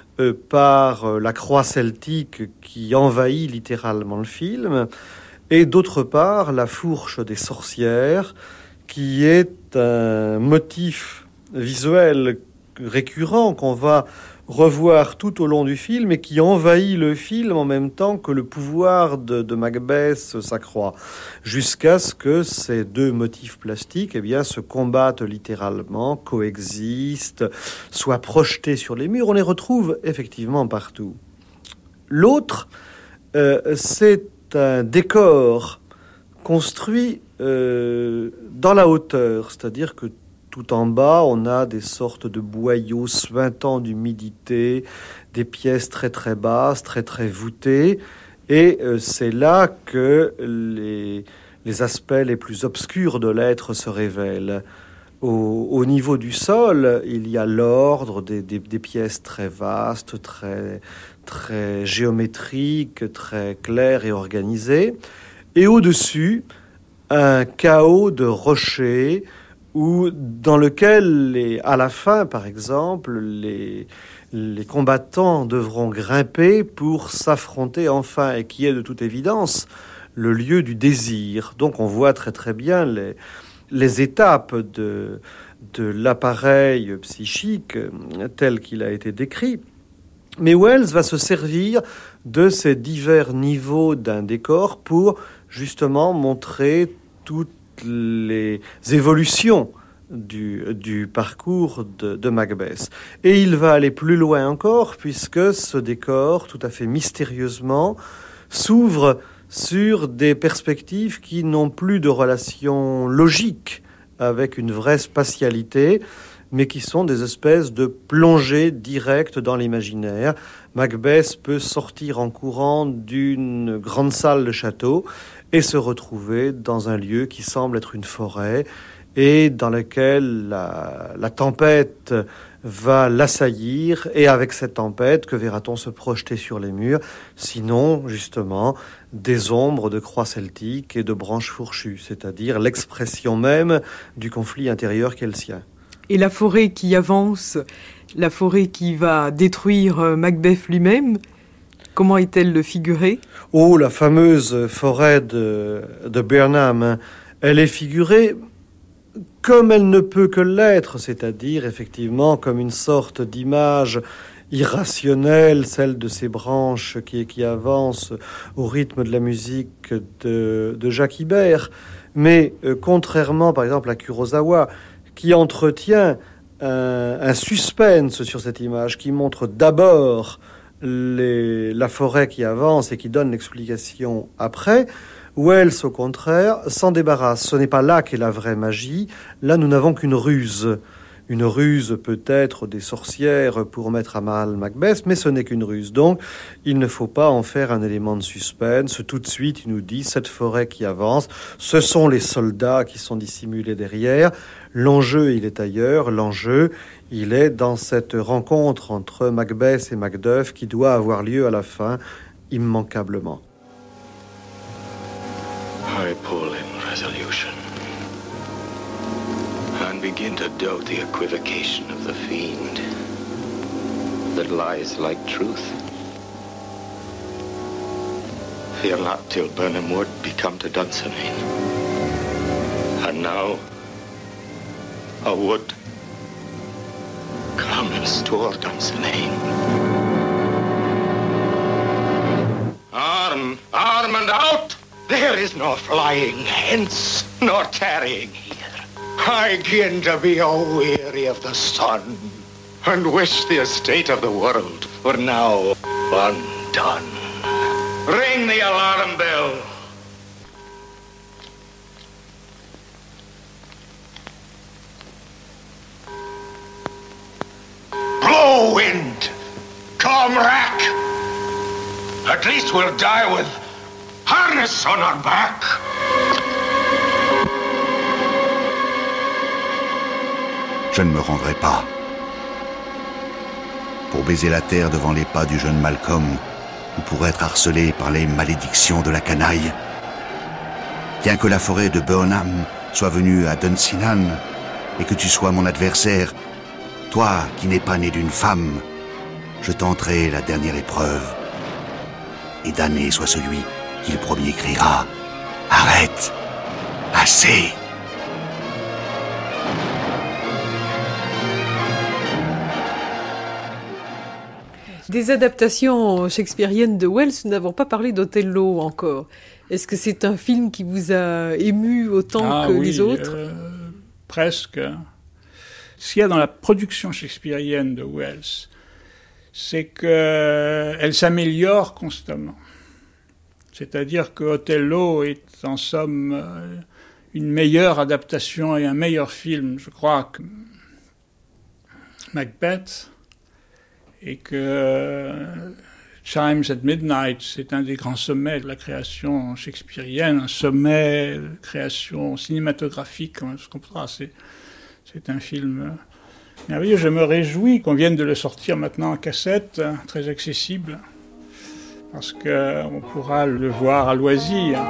par la croix celtique qui envahit littéralement le film, et d'autre part, la fourche des sorcières, qui est un motif visuel récurrent qu'on va revoir tout au long du film et qui envahit le film en même temps que le pouvoir de Macbeth s'accroît, jusqu'à ce que ces deux motifs plastiques se combattent littéralement, coexistent, soient projetés sur les murs. On les retrouve effectivement partout. L'autre, c'est un décor construit dans la hauteur, c'est-à-dire que tout en bas, on a des sortes de boyaux suintants d'humidité, des pièces très très basses, très très voûtées, et c'est là que les aspects les plus obscurs de l'être se révèlent. Au niveau du sol, il y a l'ordre des pièces très vastes, très très géométriques, très claires et organisées, et au-dessus, un chaos de rochers dans lequel, à la fin, par exemple, les combattants devront grimper pour s'affronter enfin, et qui est de toute évidence le lieu du désir. Donc on voit très très bien les étapes de l'appareil psychique tel qu'il a été décrit. Mais Wells va se servir de ces divers niveaux d'un décor pour justement montrer toutes les évolutions du parcours de Macbeth. Et il va aller plus loin encore, puisque ce décor, tout à fait mystérieusement, s'ouvre sur des perspectives qui n'ont plus de relation logique avec une vraie spatialité, mais qui sont des espèces de plongées directes dans l'imaginaire. Macbeth peut sortir en courant d'une grande salle de château et se retrouver dans un lieu qui semble être une forêt et dans lequel la tempête va l'assaillir. Et avec cette tempête, que verra-t-on se projeter sur les murs? Sinon, justement, des ombres de croix celtiques et de branches fourchues, c'est-à-dire l'expression même du conflit intérieur qu'est le sien. Et la forêt qui avance, la forêt qui va détruire Macbeth lui-même, comment est-elle figurée? Oh, la fameuse forêt de Burnham, elle est figurée comme elle ne peut que l'être, c'est-à-dire effectivement comme une sorte d'image irrationnelle, celle de ces branches qui avancent au rythme de la musique de Jacques Ibert. Mais contrairement par exemple à Kurosawa, qui entretient un suspense sur cette image, qui montre d'abord la forêt qui avance et qui donne l'explication après, Wells, au contraire, s'en débarrasse. Ce n'est pas là qu'est la vraie magie. Là, nous n'avons qu'une ruse une ruse peut-être des sorcières pour mettre à mal Macbeth, mais ce n'est qu'une ruse. Donc, il ne faut pas en faire un élément de suspense. Tout de suite, il nous dit cette forêt qui avance, ce sont les soldats qui sont dissimulés derrière. L'enjeu, il est ailleurs. L'enjeu, il est dans cette rencontre entre Macbeth et Macduff qui doit avoir lieu à la fin, immanquablement. I pull in resolution and begin to doubt the equivocation of the fiend that lies like truth. Fear not till Burnham Wood be come to Dunsinane. And now a wood comes toward Dunsinane. Arm, arm and out! There is no flying hence, nor tarrying here. I begin to be a-weary of the sun, and wish the estate of the world were now undone. Ring the alarm bell. Blow, wind! Come, rack! At least we'll die with harness on our back. Je ne me rendrai pas. Pour baiser la terre devant les pas du jeune Malcolm, ou pour être harcelé par les malédictions de la canaille. Bien que la forêt de Burnham soit venue à Dunsinane, et que tu sois mon adversaire, toi qui n'es pas né d'une femme, je tenterai la dernière épreuve. Et damné soit celui qui le premier criera « Arrête! Assez !» Des adaptations shakespeariennes de Wells, nous n'avons pas parlé d'Othello encore. Est-ce que c'est un film qui vous a ému autant que les autres ? Presque. Ce qu'il y a dans la production shakespearienne de Wells, c'est qu'elle s'améliore constamment. C'est-à-dire que Othello est en somme une meilleure adaptation et un meilleur film, je crois, que Macbeth, et que Chimes at Midnight, c'est un des grands sommets de la création shakespearienne, un sommet de création cinématographique, ce qu'on pourra. C'est un film merveilleux. Je me réjouis qu'on vienne de le sortir maintenant en cassette, très accessible, parce qu'on pourra le voir à loisir.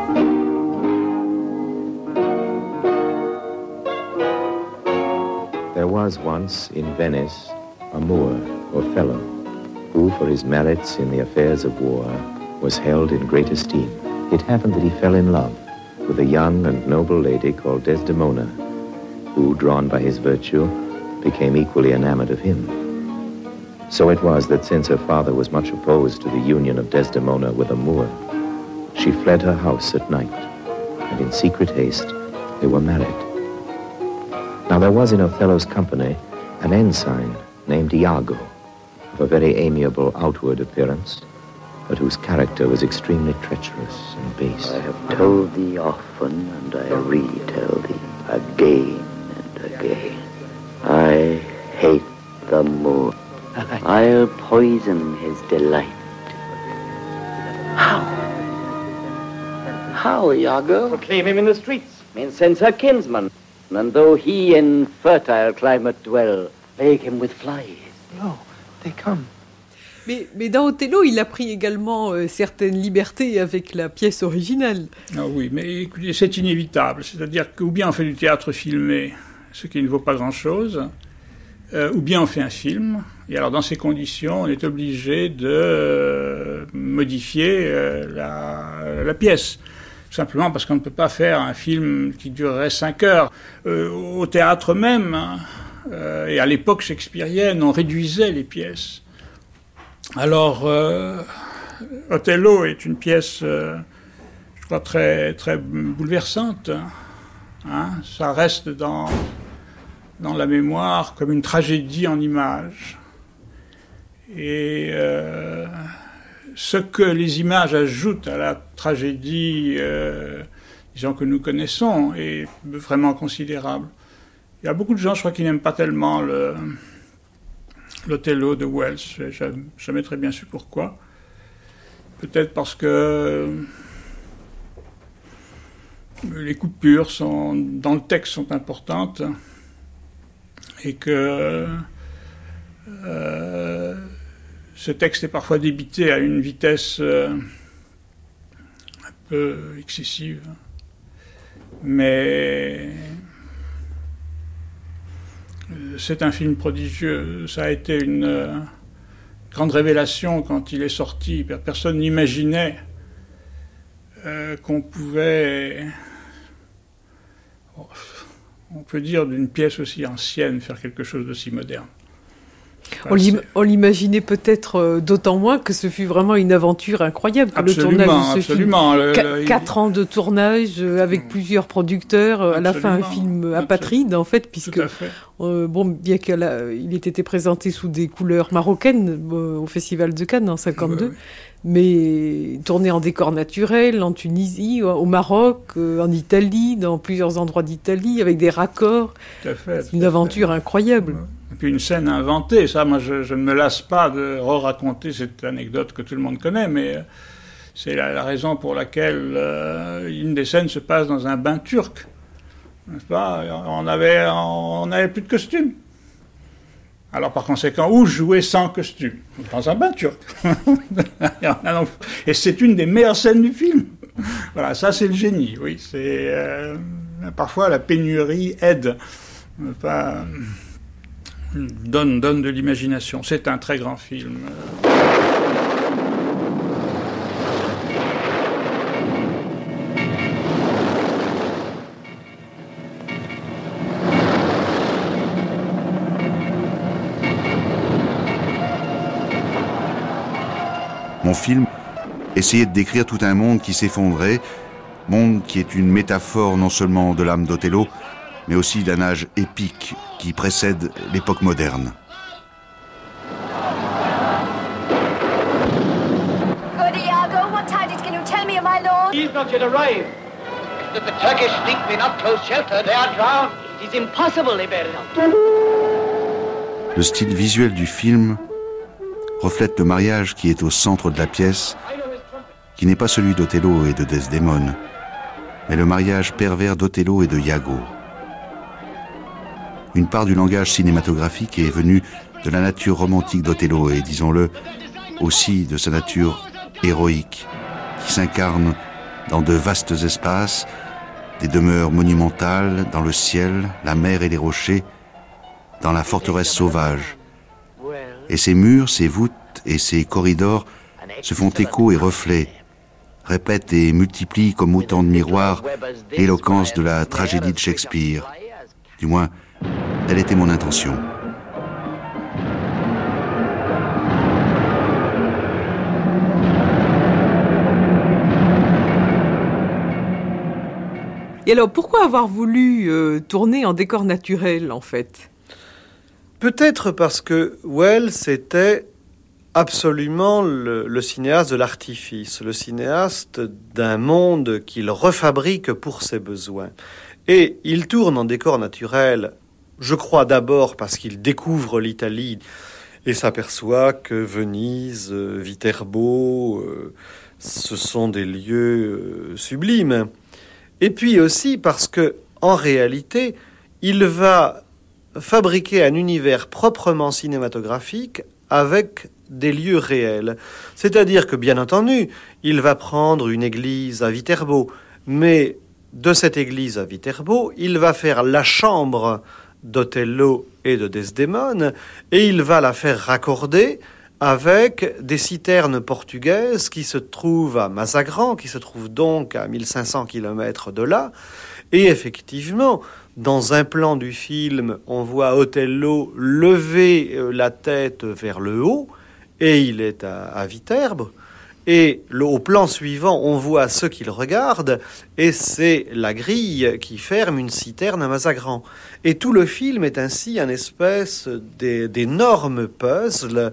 There was once in Venice a Moor, or fellow, who for his merits in the affairs of war was held in great esteem. It happened that he fell in love with a young and noble lady called Desdemona, who, drawn by his virtue, became equally enamored of him. So it was that since her father was much opposed to the union of Desdemona with a Moor, she fled her house at night, and in secret haste they were married. Now there was in Othello's company an ensign named Iago, of a very amiable outward appearance, but whose character was extremely treacherous and base. I have told thee often, and I retell thee again and again. I hate the Moor. I'll poison his delight. How? How, Iago? Proclaim him in the streets. Incense her kinsman, and though he in fertile climate dwell, plague him with flies. No, they come. Mais dans Othello, il a pris également certaines libertés avec la pièce originale. Ah oui, mais écoutez, c'est inévitable. C'est-à-dire que ou bien on fait du théâtre filmé, ce qui ne vaut pas grand-chose, ou bien on fait un film. Et alors dans ces conditions, on est obligé de modifier la pièce. Tout simplement parce qu'on ne peut pas faire un film qui durerait 5 heures. Au théâtre même, et à l'époque shakespearienne, on réduisait les pièces. Alors, Othello est une pièce, je crois, très, très bouleversante. Hein. Ça reste dans la mémoire comme une tragédie en images. Et ce que les images ajoutent à la tragédie, disons que nous connaissons, est vraiment considérable. Il y a beaucoup de gens, je crois, qui n'aiment pas tellement l'Othello de Wells. Je n'ai jamais très bien su pourquoi. Peut-être parce que les coupures dans le texte sont importantes et que ce texte est parfois débité à une vitesse un peu excessive. Mais c'est un film prodigieux. Ça a été une grande révélation quand il est sorti. Personne n'imaginait qu'on pouvait, on peut dire, d'une pièce aussi ancienne, faire quelque chose d'aussi moderne. On l'imaginait peut-être d'autant moins que ce fut vraiment une aventure incroyable. Absolument, le tournage de ce absolument. Film. 4 ans de tournage avec plusieurs producteurs. À la fin, un film apatride, en fait, puisque, bien qu'il ait été présenté sous des couleurs marocaines au Festival de Cannes en 1952, mais tourné en décor naturel, en Tunisie, au Maroc, en Italie, dans plusieurs endroits d'Italie, avec des raccords. C'est une aventure incroyable. Et puis une scène inventée, ça, moi je ne me lasse pas de raconter cette anecdote que tout le monde connaît, mais c'est la raison pour laquelle une des scènes se passe dans un bain turc, n'est-ce pas ? On avait plus de costume. Alors par conséquent, où jouer sans costume ? Dans un bain turc. Et c'est une des meilleures scènes du film. Voilà, ça c'est le génie, oui. C'est parfois la pénurie aide, pas donne de l'imagination. C'est un très grand film. Mon film essayait de décrire tout un monde qui s'effondrait, monde qui est une métaphore non seulement de l'âme d'Othello, mais aussi d'un âge épique qui précède l'époque moderne. Good Iago, what tidings can you tell me of my lord? He is not yet arrived. That the Turkish fleet be not close shelter, they are drowned. It is impossible they bear it out. Le style visuel du film reflète le mariage qui est au centre de la pièce, qui n'est pas celui d'Othello et de Desdémone, mais le mariage pervers d'Othello et de Iago. Une part du langage cinématographique est venue de la nature romantique d'Othello et, disons-le, aussi de sa nature héroïque, qui s'incarne dans de vastes espaces, des demeures monumentales, dans le ciel, la mer et les rochers, dans la forteresse sauvage. Et ces murs, ces voûtes et ces corridors se font écho et reflet, répètent et multiplient comme autant de miroirs l'éloquence de la tragédie de Shakespeare. Du moins, telle était mon intention. Et alors, pourquoi avoir voulu tourner en décor naturel, en fait ? Peut-être parce que Wells était absolument le cinéaste de l'artifice, le cinéaste d'un monde qu'il refabrique pour ses besoins. Et il tourne en décor naturel, je crois d'abord parce qu'il découvre l'Italie et s'aperçoit que Venise, Viterbo, ce sont des lieux sublimes. Et puis aussi parce que, en réalité, il va fabriquer un univers proprement cinématographique avec des lieux réels. C'est-à-dire que, bien entendu, il va prendre une église à Viterbo, mais de cette église à Viterbo, il va faire la chambre d'Othello et de Desdémone, et il va la faire raccorder avec des citernes portugaises qui se trouvent à Mazagran, qui se trouvent donc à 1500 km de là. Et effectivement, dans un plan du film, on voit Othello lever la tête vers le haut, et il est à Viterbo. Et au plan suivant, on voit ce qu'il regarde, et c'est la grille qui ferme une citerne à Mazagran. Et tout le film est ainsi un espèce d'énorme puzzle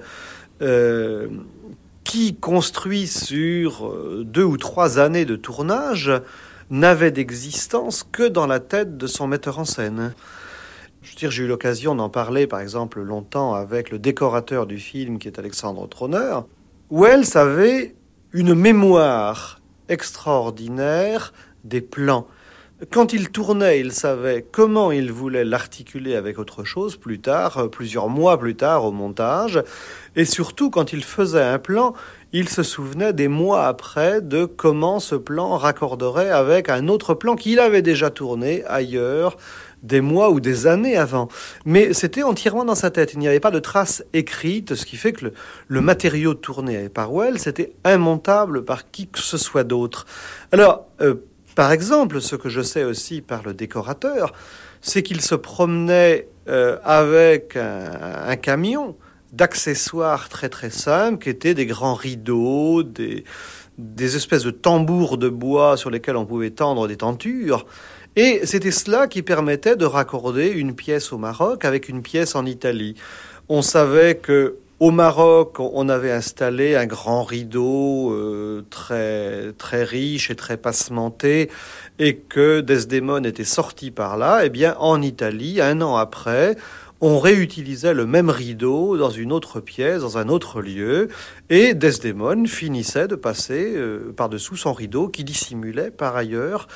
qui, construit sur 2 ou 3 années de tournage, n'avait d'existence que dans la tête de son metteur en scène. Je veux dire, j'ai eu l'occasion d'en parler, par exemple, longtemps avec le décorateur du film, qui est Alexandre Trauner. Welles avait une mémoire extraordinaire des plans. Quand il tournait, il savait comment il voulait l'articuler avec autre chose plus tard, plusieurs mois plus tard au montage. Et surtout, quand il faisait un plan, il se souvenait des mois après de comment ce plan raccorderait avec un autre plan qu'il avait déjà tourné ailleurs, des mois ou des années avant. Mais c'était entièrement dans sa tête. Il n'y avait pas de traces écrites, ce qui fait que le matériau tourné par Welles était immontable par qui que ce soit d'autre. Alors, par exemple, ce que je sais aussi par le décorateur, c'est qu'il se promenait avec un camion d'accessoires très très simples, qui étaient des grands rideaux, des espèces de tambours de bois sur lesquels on pouvait tendre des tentures. Et c'était cela qui permettait de raccorder une pièce au Maroc avec une pièce en Italie. On savait que au Maroc, on avait installé un grand rideau très très riche et très passementé, et que Desdémone était sorti par là. Eh bien, en Italie, 1 an après, on réutilisait le même rideau dans une autre pièce, dans un autre lieu, et Desdémone finissait de passer par-dessous son rideau, qui dissimulait par ailleurs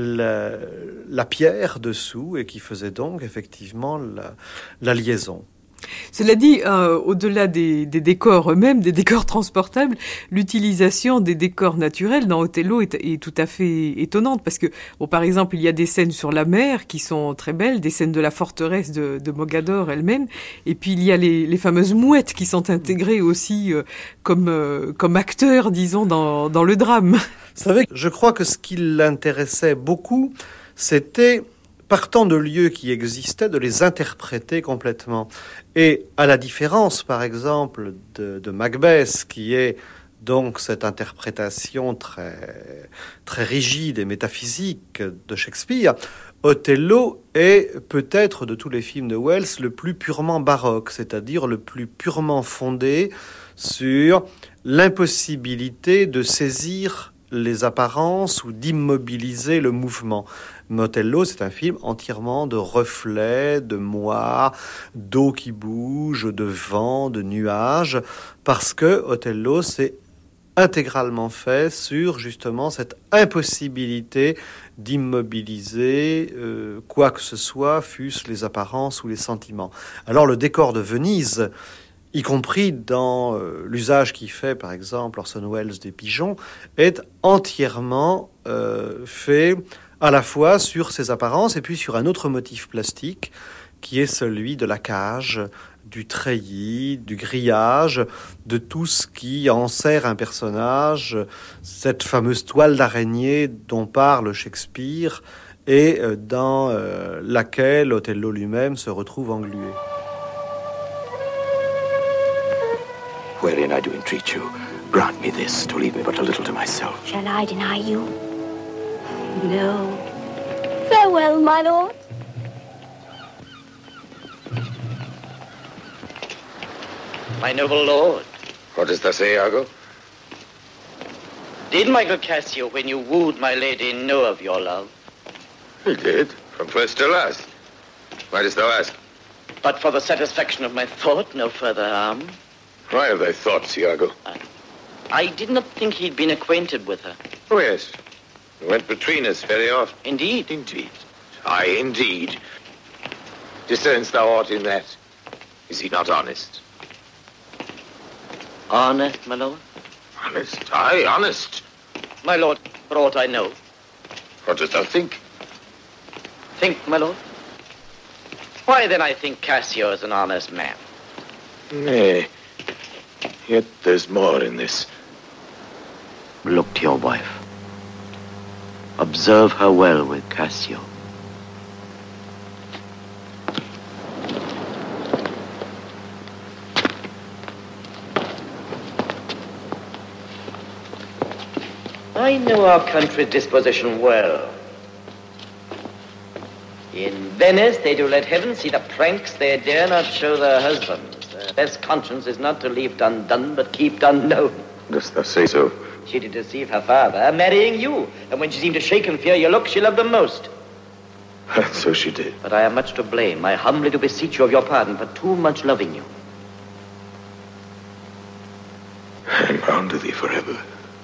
la pierre dessous, et qui faisait donc effectivement la liaison. Cela dit, au-delà des décors eux-mêmes, des décors transportables, l'utilisation des décors naturels dans Othello est tout à fait étonnante, parce que, bon, par exemple, il y a des scènes sur la mer qui sont très belles, des scènes de la forteresse de Mogador elle-même, et puis il y a les fameuses mouettes qui sont intégrées aussi comme acteurs, disons, dans le drame. Vous savez, je crois que ce qui l'intéressait beaucoup, c'était, partant de lieux qui existaient, de les interpréter complètement. Et à la différence, par exemple, de Macbeth, qui est donc cette interprétation très, très rigide et métaphysique de Shakespeare, Othello est peut-être, de tous les films de Welles, le plus purement baroque, c'est-à-dire le plus purement fondé sur l'impossibilité de saisir les apparences ou d'immobiliser le mouvement. Othello, c'est un film entièrement de reflets, de moires, d'eau qui bouge, de vent, de nuages, parce que Othello, c'est intégralement fait sur justement cette impossibilité d'immobiliser quoi que ce soit, fût-ce les apparences ou les sentiments. Alors le décor de Venise, y compris dans l'usage qu'il fait, par exemple, Orson Welles des pigeons, est entièrement fait à la fois sur ses apparences et puis sur un autre motif plastique qui est celui de la cage, du treillis, du grillage, de tout ce qui enserre un personnage, cette fameuse toile d'araignée dont parle Shakespeare et dans laquelle Othello lui-même se retrouve englué. Wherein I do entreat you, grant me this, to leave me but a little to myself. Shall I deny you? No. Farewell, my lord. My noble lord. What dost thou say, Iago? Did Michael Cassio, when you wooed my lady, know of your love? He did, from first to last. Why dost thou ask? But for the satisfaction of my thought, no further harm. Why have thy thoughts, Iago? I did not think he'd been acquainted with her. Oh, yes. We went between us very often. Indeed? Indeed. Aye, indeed. Discernst thou aught in that? Is he not honest? Honest, my lord? Honest? Aye, honest. My lord, for aught I know. What dost thou think? Think, my lord? Why, then I think Cassio is an honest man. Nay. Yet there's more in this. Look to your wife. Observe her well with Cassio. I know our country's disposition well. In Venice, they do let heaven see the pranks they dare not show their husbands. Their best conscience is not to leave done done, but keep done known. Dost thou say so? She did deceive her father, marrying you. And when she seemed to shake in fear your look, she loved him most. And so she did. But I am much to blame. I humbly do beseech you of your pardon for too much loving you. I am bound to thee forever.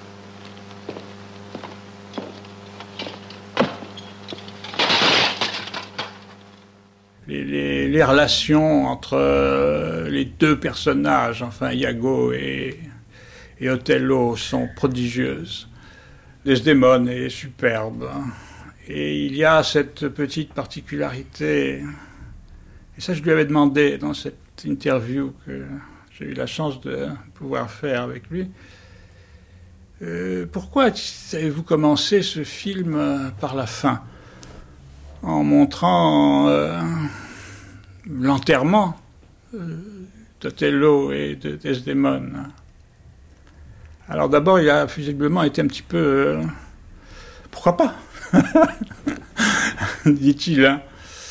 Les relations entre les deux personnages, enfin Iago et Othello, sont prodigieuses. Desdemone est superbe. Et il y a cette petite particularité, et ça je lui avais demandé dans cette interview que j'ai eu la chance de pouvoir faire avec lui. Pourquoi avez-vous commencé ce film par la fin, en montrant l'enterrement d'Othello et de Desdemone? Alors d'abord, il a visiblement été un petit peu... pourquoi pas dit-il. Hein.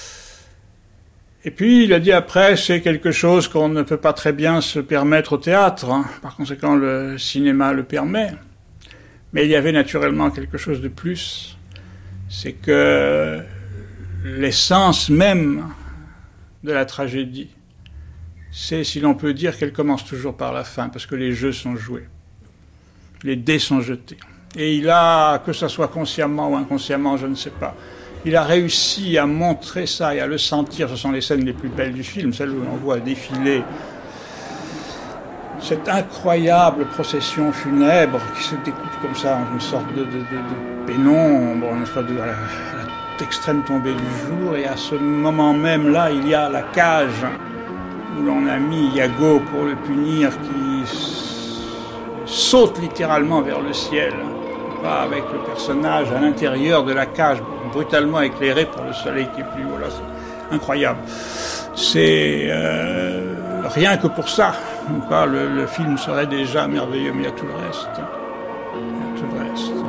Et puis il a dit après, c'est quelque chose qu'on ne peut pas très bien se permettre au théâtre. Hein. Par conséquent, le cinéma le permet. Mais il y avait naturellement quelque chose de plus. C'est que l'essence même de la tragédie, c'est, si l'on peut dire, qu'elle commence toujours par la fin, parce que les jeux sont joués. Les dés sont jetés. Et il a, que ce soit consciemment ou inconsciemment, je ne sais pas, il a réussi à montrer ça et à le sentir. Ce sont les scènes les plus belles du film, celles où on voit défiler cette incroyable procession funèbre qui se découpe comme ça en une sorte de pénombre, n'est-ce pas, à l'extrême tombée du jour. Et à ce moment même là, il y a la cage où l'on a mis Iago pour le punir, qui saute littéralement vers le ciel, pas avec le personnage à l'intérieur de la cage, brutalement éclairé par le soleil qui est plus haut. Là, c'est incroyable. C'est rien que pour ça. Le film serait déjà merveilleux, mais il y a tout le reste. Il y a tout le reste.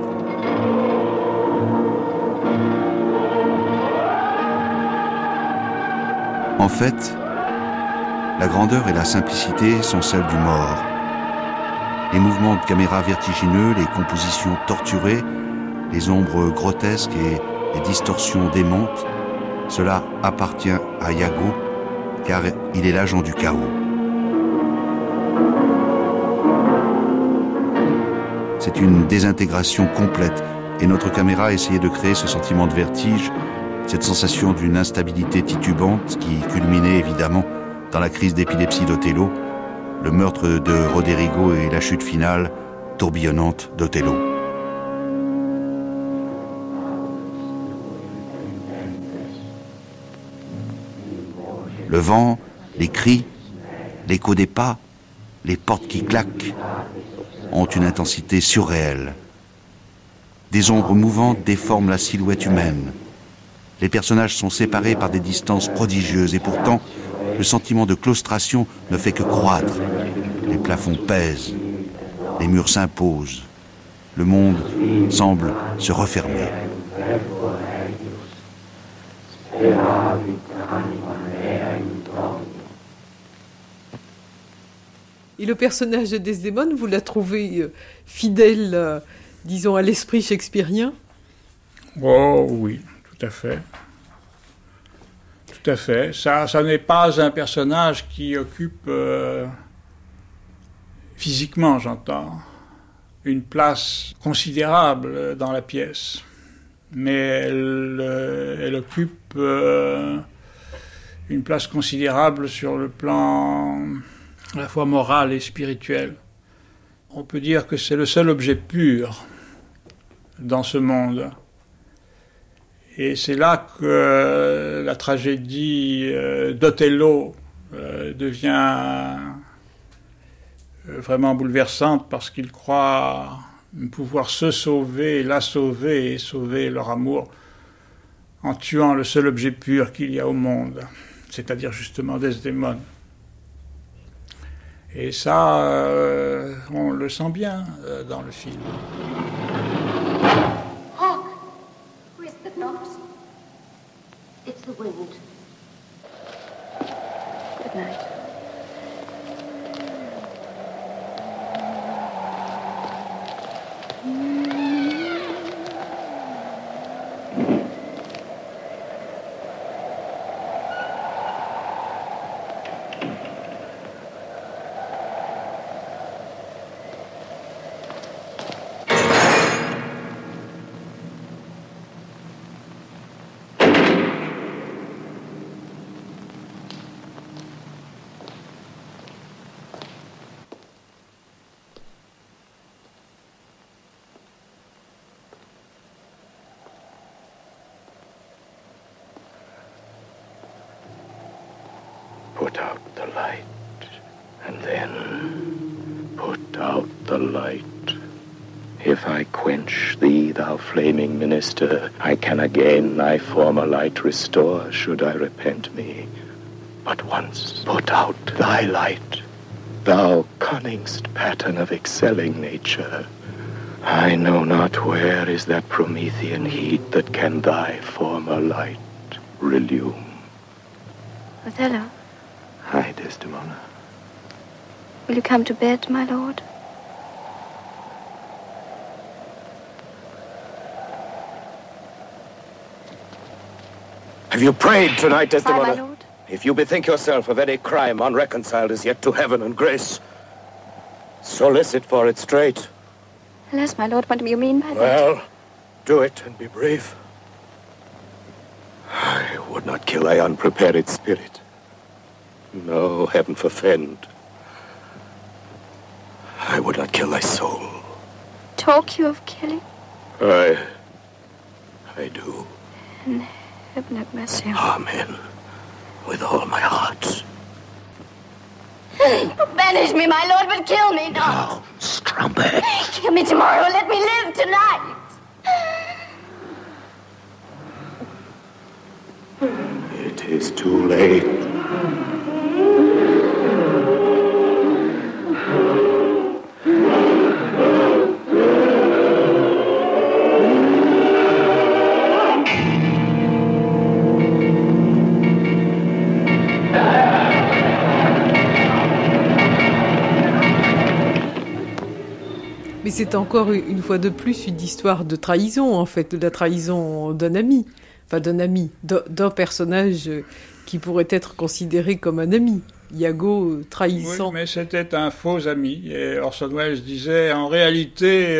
En fait, la grandeur et la simplicité sont celles du mort. Les mouvements de caméra vertigineux, les compositions torturées, les ombres grotesques et les distorsions démentes, cela appartient à Iago, car il est l'agent du chaos. C'est une désintégration complète, et notre caméra a essayé de créer ce sentiment de vertige, cette sensation d'une instabilité titubante qui culminait évidemment dans la crise d'épilepsie d'Othello, le meurtre de Roderigo et la chute finale tourbillonnante d'Othello. Le vent, les cris, l'écho des pas, les portes qui claquent ont une intensité surréelle. Des ombres mouvantes déforment la silhouette humaine. Les personnages sont séparés par des distances prodigieuses et pourtant, le sentiment de claustration ne fait que croître. Les plafonds pèsent, les murs s'imposent, le monde semble se refermer. Et le personnage de Desdemone, vous la trouvez fidèle, disons, à l'esprit shakespearien? Oh oui, tout à fait. Tout à fait. Ça n'est pas un personnage qui occupe, physiquement j'entends, une place considérable dans la pièce. Mais elle occupe une place considérable sur le plan à la fois moral et spirituel. On peut dire que c'est le seul objet pur dans ce monde. Et c'est là que la tragédie d'Othello devient vraiment bouleversante, parce qu'il croit pouvoir se sauver, la sauver et sauver leur amour en tuant le seul objet pur qu'il y a au monde, c'est-à-dire justement Desdemone. Et ça, on le sent bien dans le film. Hark! Who is that knocks? It's the wind. Good night. put out the light, and then put out the light. If I quench thee, thou flaming minister, I can again thy former light restore, should I repent me. But once put out thy light, thou cunningst pattern of excelling nature, I know not where is that Promethean heat that can thy former light relume. Othello, Hi, Desdemona. will you come to bed, my lord? Have you prayed tonight, Desdemona? Aye, my lord. If you bethink yourself of any crime unreconciled as yet to heaven and grace, solicit for it straight. Alas, my lord, what do you mean by that? Well, do it and be brave. I would not kill thy unprepared spirit. No, heaven forfend. I would not kill thy soul. Talk you of killing? I do. And heaven have mercy on me. Amen. With all my heart. Banish me, my lord, but kill me not. No, strumpet. Kill me tomorrow. Let me live tonight. It is too late. Mais c'est encore une fois de plus une histoire de trahison, en fait, de la trahison d'un ami. Enfin, d'un personnage qui pourrait être considéré comme un ami. Iago trahissant. Oui, mais c'était un faux ami. Et Orson Welles disait, en réalité,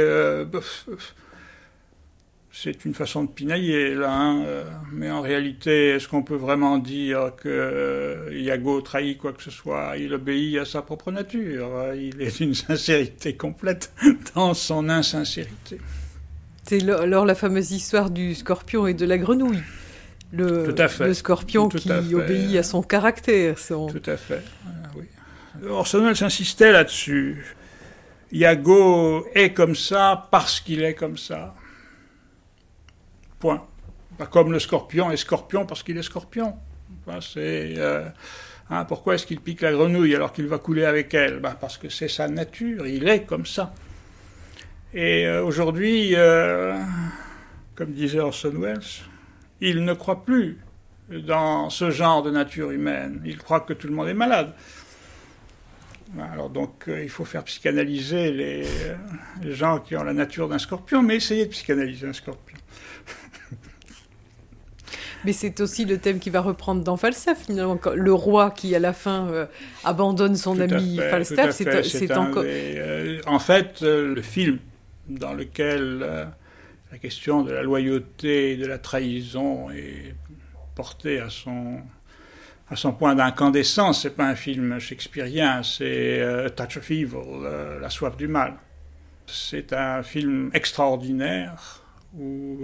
c'est une façon de pinailler, là. Hein, mais en réalité, est-ce qu'on peut vraiment dire que Iago trahit quoi que ce soit? Il obéit à sa propre nature. Il est d'une sincérité complète dans son insincérité. C'est alors la fameuse histoire du scorpion et de la grenouille. Tout à fait. Le scorpion qui obéit à son caractère. Tout à fait, oui. Orson Welles insistait là-dessus. Iago est comme ça parce qu'il est comme ça. Point. Pas comme le scorpion est scorpion parce qu'il est scorpion. Enfin, pourquoi est-ce qu'il pique la grenouille alors qu'il va couler avec elle? Parce que c'est sa nature, il est comme ça. Et aujourd'hui, comme disait Orson Welles, il ne croit plus dans ce genre de nature humaine. Il croit que tout le monde est malade. Alors donc, il faut faire psychanalyser les gens qui ont la nature d'un scorpion, mais essayez de psychanalyser un scorpion. Mais c'est aussi le thème qui va reprendre dans Falstaff, finalement. Le roi qui, à la fin, abandonne son ami Falstaff, c'est encore... En fait, le film dans lequel la question de la loyauté et de la trahison est portée à son point d'incandescence, c'est pas un film shakespearien, c'est Touch of Evil, La soif du mal. C'est un film extraordinaire où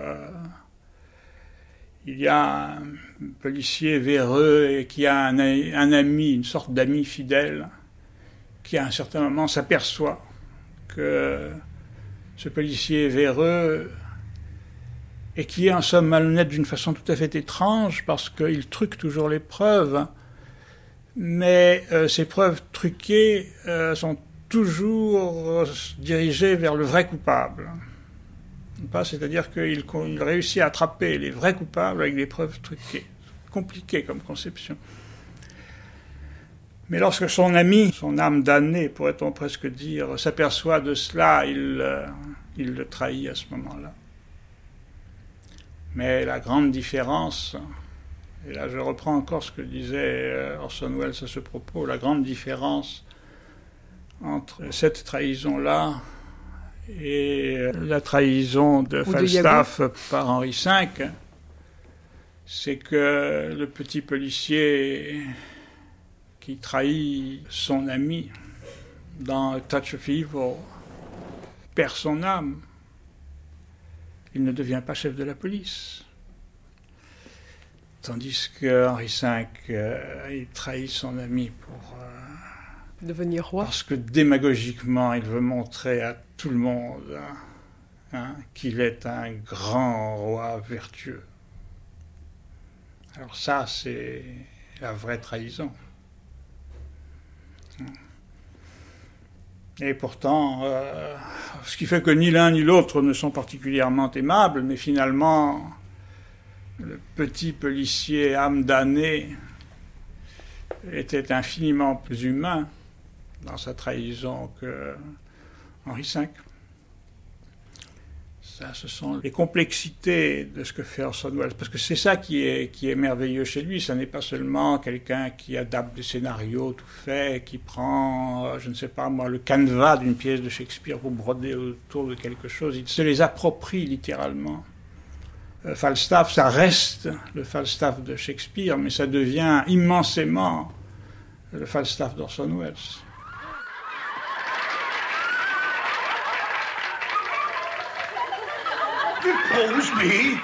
il y a un policier véreux et qui a un ami, une sorte d'ami fidèle, qui à un certain moment s'aperçoit que ce policier véreux et qui est en somme malhonnête d'une façon tout à fait étrange parce qu'il truque toujours les preuves, mais ces preuves truquées sont toujours dirigées vers le vrai coupable. C'est-à-dire qu'il réussit à attraper les vrais coupables avec des preuves truquées. Compliqué comme conception. Mais lorsque son ami, son âme damnée, pourrait-on presque dire, s'aperçoit de cela, il le trahit à ce moment-là. Mais la grande différence, et là je reprends encore ce que disait Orson Welles à ce propos, la grande différence entre cette trahison-là et la trahison de Falstaff par Henri V, c'est que le petit policier qui trahit son ami dans Touch of Evil perd son âme. Il ne devient pas chef de la police. Tandis que Henri V, il trahit son ami pour devenir roi. Parce que démagogiquement, il veut montrer à tout le monde qu'il est un grand roi vertueux. Alors ça, c'est la vraie trahison. Et pourtant, ce qui fait que ni l'un ni l'autre ne sont particulièrement aimables, mais finalement, le petit policier âme damnée était infiniment plus humain dans sa trahison que Henri V. Ça, ce sont les complexités de ce que fait Orson Welles, parce que c'est ça qui est merveilleux chez lui. Ça n'est pas seulement quelqu'un qui adapte des scénarios tout faits, qui prend, je ne sais pas moi, le canevas d'une pièce de Shakespeare pour broder autour de quelque chose. Il se les approprie littéralement. Falstaff, ça reste le Falstaff de Shakespeare, mais ça devient immensément le Falstaff d'Orson Welles. Depose me.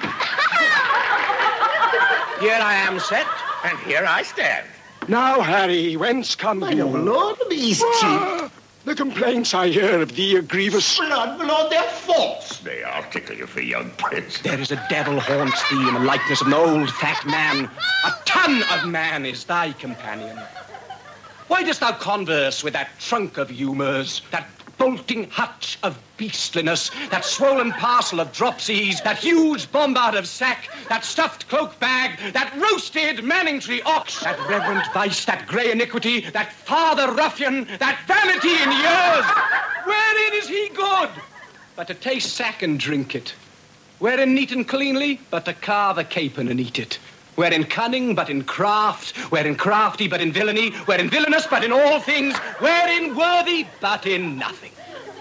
Here I am set, and here I stand. Now, Harry, whence come you? My lord, the East Chief. The complaints I hear of thee are grievous. Blood, my lord, they're false. They are tickle you for young prince. There is a devil haunts thee in the likeness of an old fat man. A ton of man is thy companion. Why dost thou converse with that trunk of humours, that bolting hutch of beastliness, that swollen parcel of dropsies, that huge bombard of sack, that stuffed cloak bag, that roasted Manningtree ox, that reverent vice, that grey iniquity, that father ruffian, that vanity in years? Wherein is he good? But to taste sack and drink it. Wherein neat and cleanly? But to carve a capon and eat it. Wherein cunning, but in craft. Wherein crafty, but in villainy. Wherein villainous, but in all things. Wherein worthy, but in nothing.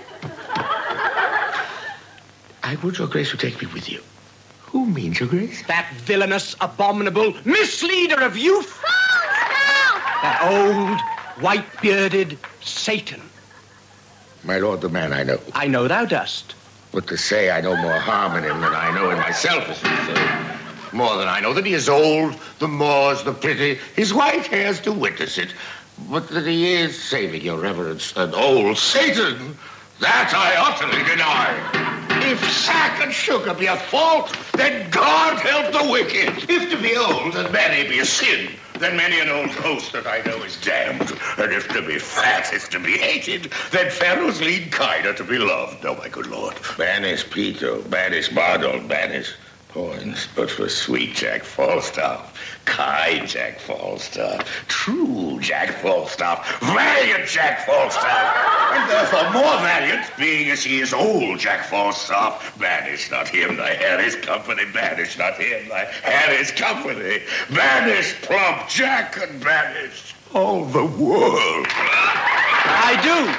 I would your grace would take me with you. Who means your grace? That villainous, abominable misleader of youth. That old, white-bearded Satan. My lord, the man I know. I know thou dost. But to say I know more harm in him than I know in myself is to say. More than I know that he is old, the moors, the pretty, his white hairs do witness it. But that he is, saving your reverence, an old Satan, that I utterly deny. If sack and sugar be a fault, then God help the wicked. If to be old and many be a sin, then many an old host that I know is damned. And if to be fat is to be hated, then Pharaoh's lean kine are to be loved. Oh, my good lord. Banish Peter, banish Bardol, banish points, but for sweet Jack Falstaff, kind Jack Falstaff, true Jack Falstaff, valiant Jack Falstaff, and therefore more valiant, being as he is old Jack Falstaff. Banish not him, thy Harry's company, banish not him, thy Harry's company, banish plump Jack and banish all the world. I do.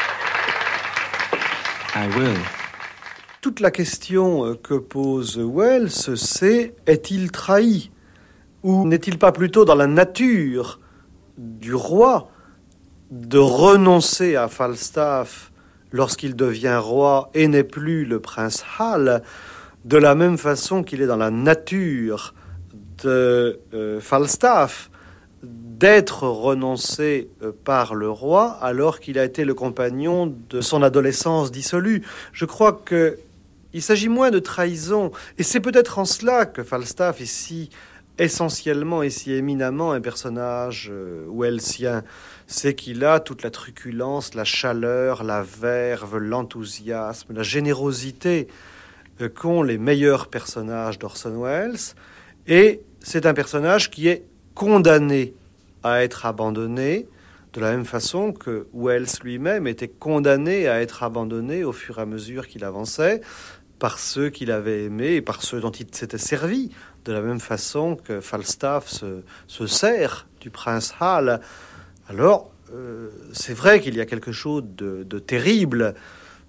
I will. Toute la question que pose Welles, c'est est-il trahi? Ou n'est-il pas plutôt dans la nature du roi de renoncer à Falstaff lorsqu'il devient roi et n'est plus le prince Hal, de la même façon qu'il est dans la nature de Falstaff d'être renoncé par le roi alors qu'il a été le compagnon de son adolescence dissolue. Je crois que il s'agit moins de trahison, et c'est peut-être en cela que Falstaff est si essentiellement et si éminemment un personnage wellsien. C'est qu'il a toute la truculence, la chaleur, la verve, l'enthousiasme, la générosité qu'ont les meilleurs personnages d'Orson Welles, et c'est un personnage qui est condamné à être abandonné, de la même façon que Welles lui-même était condamné à être abandonné au fur et à mesure qu'il avançait, par ceux qu'il avait aimés et par ceux dont il s'était servi, de la même façon que Falstaff se sert du prince Hal. Alors, c'est vrai qu'il y a quelque chose de terrible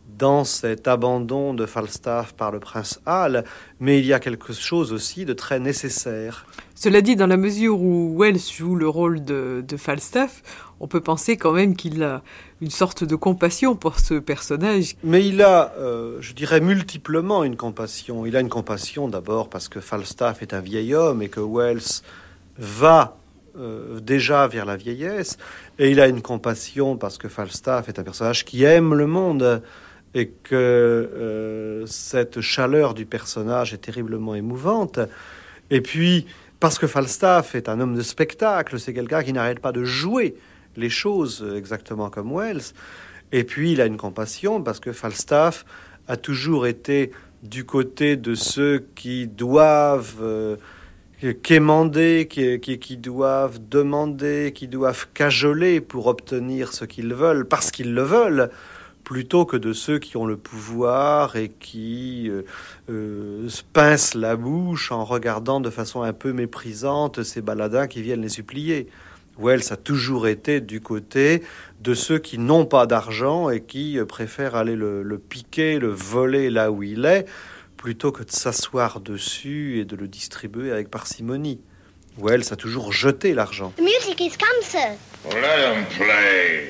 dans cet abandon de Falstaff par le prince Hal, mais il y a quelque chose aussi de très nécessaire. Cela dit, dans la mesure où Wells joue le rôle de Falstaff, on peut penser quand même qu'il a une sorte de compassion pour ce personnage. Mais il a, je dirais, multiplement une compassion. Il a une compassion d'abord parce que Falstaff est un vieil homme et que Wells va déjà vers la vieillesse. Et il a une compassion parce que Falstaff est un personnage qui aime le monde et que cette chaleur du personnage est terriblement émouvante. Et puis, parce que Falstaff est un homme de spectacle, c'est quelqu'un qui n'arrête pas de jouer les choses exactement comme Wells. Et puis, il a une compassion parce que Falstaff a toujours été du côté de ceux qui doivent quémander, qui doivent demander, qui doivent cajoler pour obtenir ce qu'ils veulent, parce qu'ils le veulent, plutôt que de ceux qui ont le pouvoir et qui se pincent la bouche en regardant de façon un peu méprisante ces baladins qui viennent les supplier. Wells a toujours été du côté de ceux qui n'ont pas d'argent et qui préfèrent aller le piquer, le voler là où il est, plutôt que de s'asseoir dessus et de le distribuer avec parcimonie. Wells a toujours jeté l'argent. The music is come, sir. Well, let them play.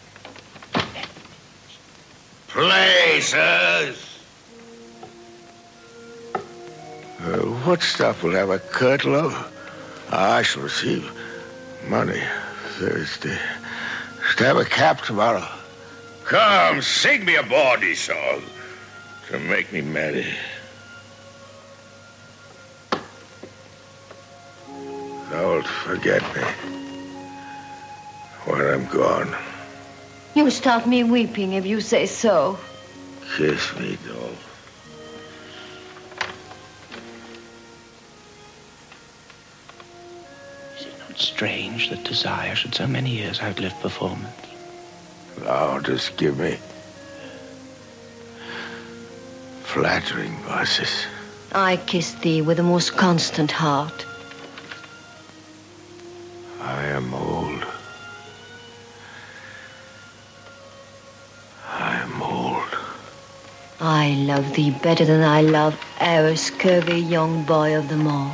Play, sirs. What stuff will have a curtlow? I shall receive money Thursday. To have a cap tomorrow. Come, sing me a bawdy song to make me merry. Don't forget me when I'm gone. You'll start me weeping if you say so. Kiss me, doll. Is it not strange that desire should so many years outlive performance? Now just give me flattering verses. I kiss thee with the most constant heart. I am old. I am old. I love thee better than I love our scurvy young boy of them all.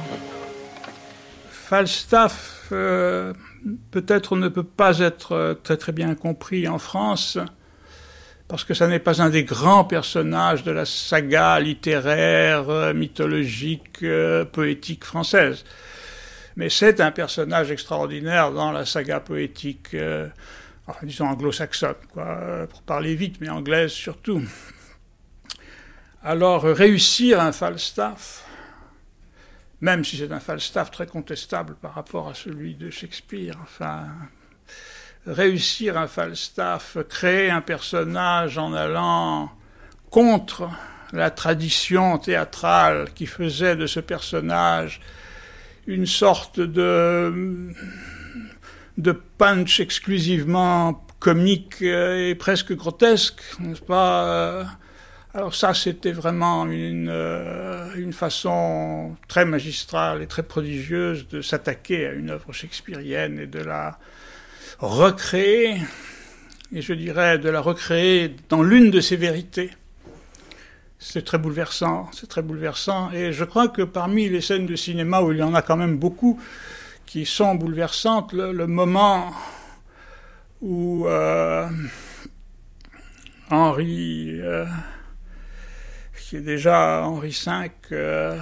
Falstaff, peut-être ne peut pas être très très bien compris en France, parce que ça n'est pas un des grands personnages de la saga littéraire, mythologique, poétique française. Mais c'est un personnage extraordinaire dans la saga poétique, disons anglo-saxonne, pour parler vite, mais anglaise surtout. Alors, réussir un Falstaff, même si c'est un Falstaff très contestable par rapport à celui de Shakespeare, réussir un Falstaff, créer un personnage en allant contre la tradition théâtrale qui faisait de ce personnage une sorte de punch exclusivement comique et presque grotesque, n'est-ce pas? Alors ça, c'était vraiment une façon très magistrale et très prodigieuse de s'attaquer à une œuvre shakespearienne et de la recréer, et je dirais de la recréer dans l'une de ses vérités. C'est très bouleversant, et je crois que parmi les scènes de cinéma où il y en a quand même beaucoup qui sont bouleversantes, le moment où Henri, qui est déjà Henri V,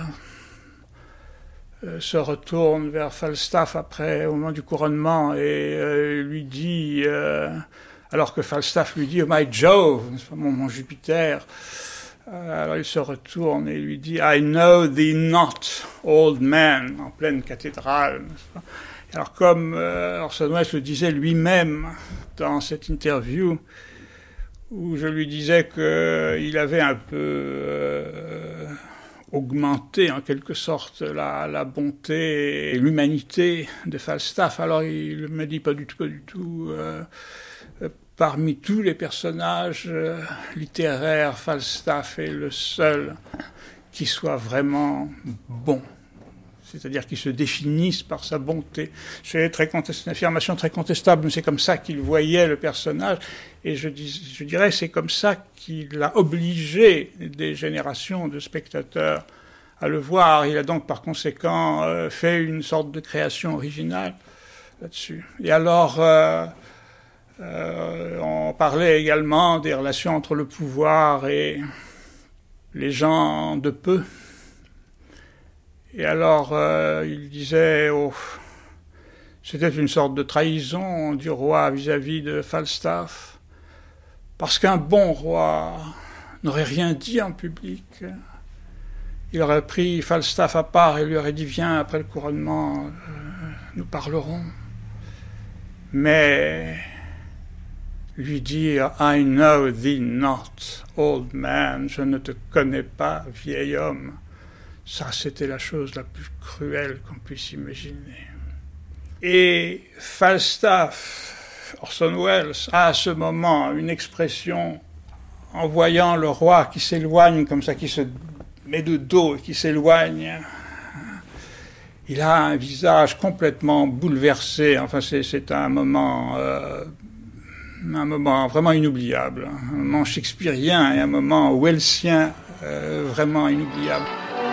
se retourne vers Falstaff après, au moment du couronnement, et lui dit, alors que Falstaff lui dit « Oh my Jove, mon Jupiter », alors il se retourne et lui dit « I know thee not, old man », en pleine cathédrale. Alors comme Orson Welles le disait lui-même dans cette interview, où je lui disais qu'il avait un peu augmenté en quelque sorte la bonté et l'humanité de Falstaff. Alors il me dit pas du tout. Parmi tous les personnages littéraires, Falstaff est le seul qui soit vraiment bon. c'est-à-dire qu'il se définisse par sa bonté. C'est une affirmation très contestable, mais c'est comme ça qu'il voyait le personnage, et je dirais c'est comme ça qu'il a obligé des générations de spectateurs à le voir. Il a donc par conséquent fait une sorte de création originale là-dessus. Et alors, on parlait également des relations entre le pouvoir et les gens de peu. Et alors, il disait, c'était une sorte de trahison du roi vis-à-vis de Falstaff, parce qu'un bon roi n'aurait rien dit en public. Il aurait pris Falstaff à part et lui aurait dit, viens, après le couronnement, nous parlerons. Mais lui dire, I know thee not, old man, je ne te connais pas, vieil homme, ça, c'était la chose la plus cruelle qu'on puisse imaginer. Et Falstaff, Orson Welles, a à ce moment une expression en voyant le roi qui s'éloigne comme ça, qui se met de dos et qui s'éloigne. Il a un visage complètement bouleversé. Enfin, c'est un moment vraiment inoubliable, un moment shakespearien et un moment wellsien vraiment inoubliable.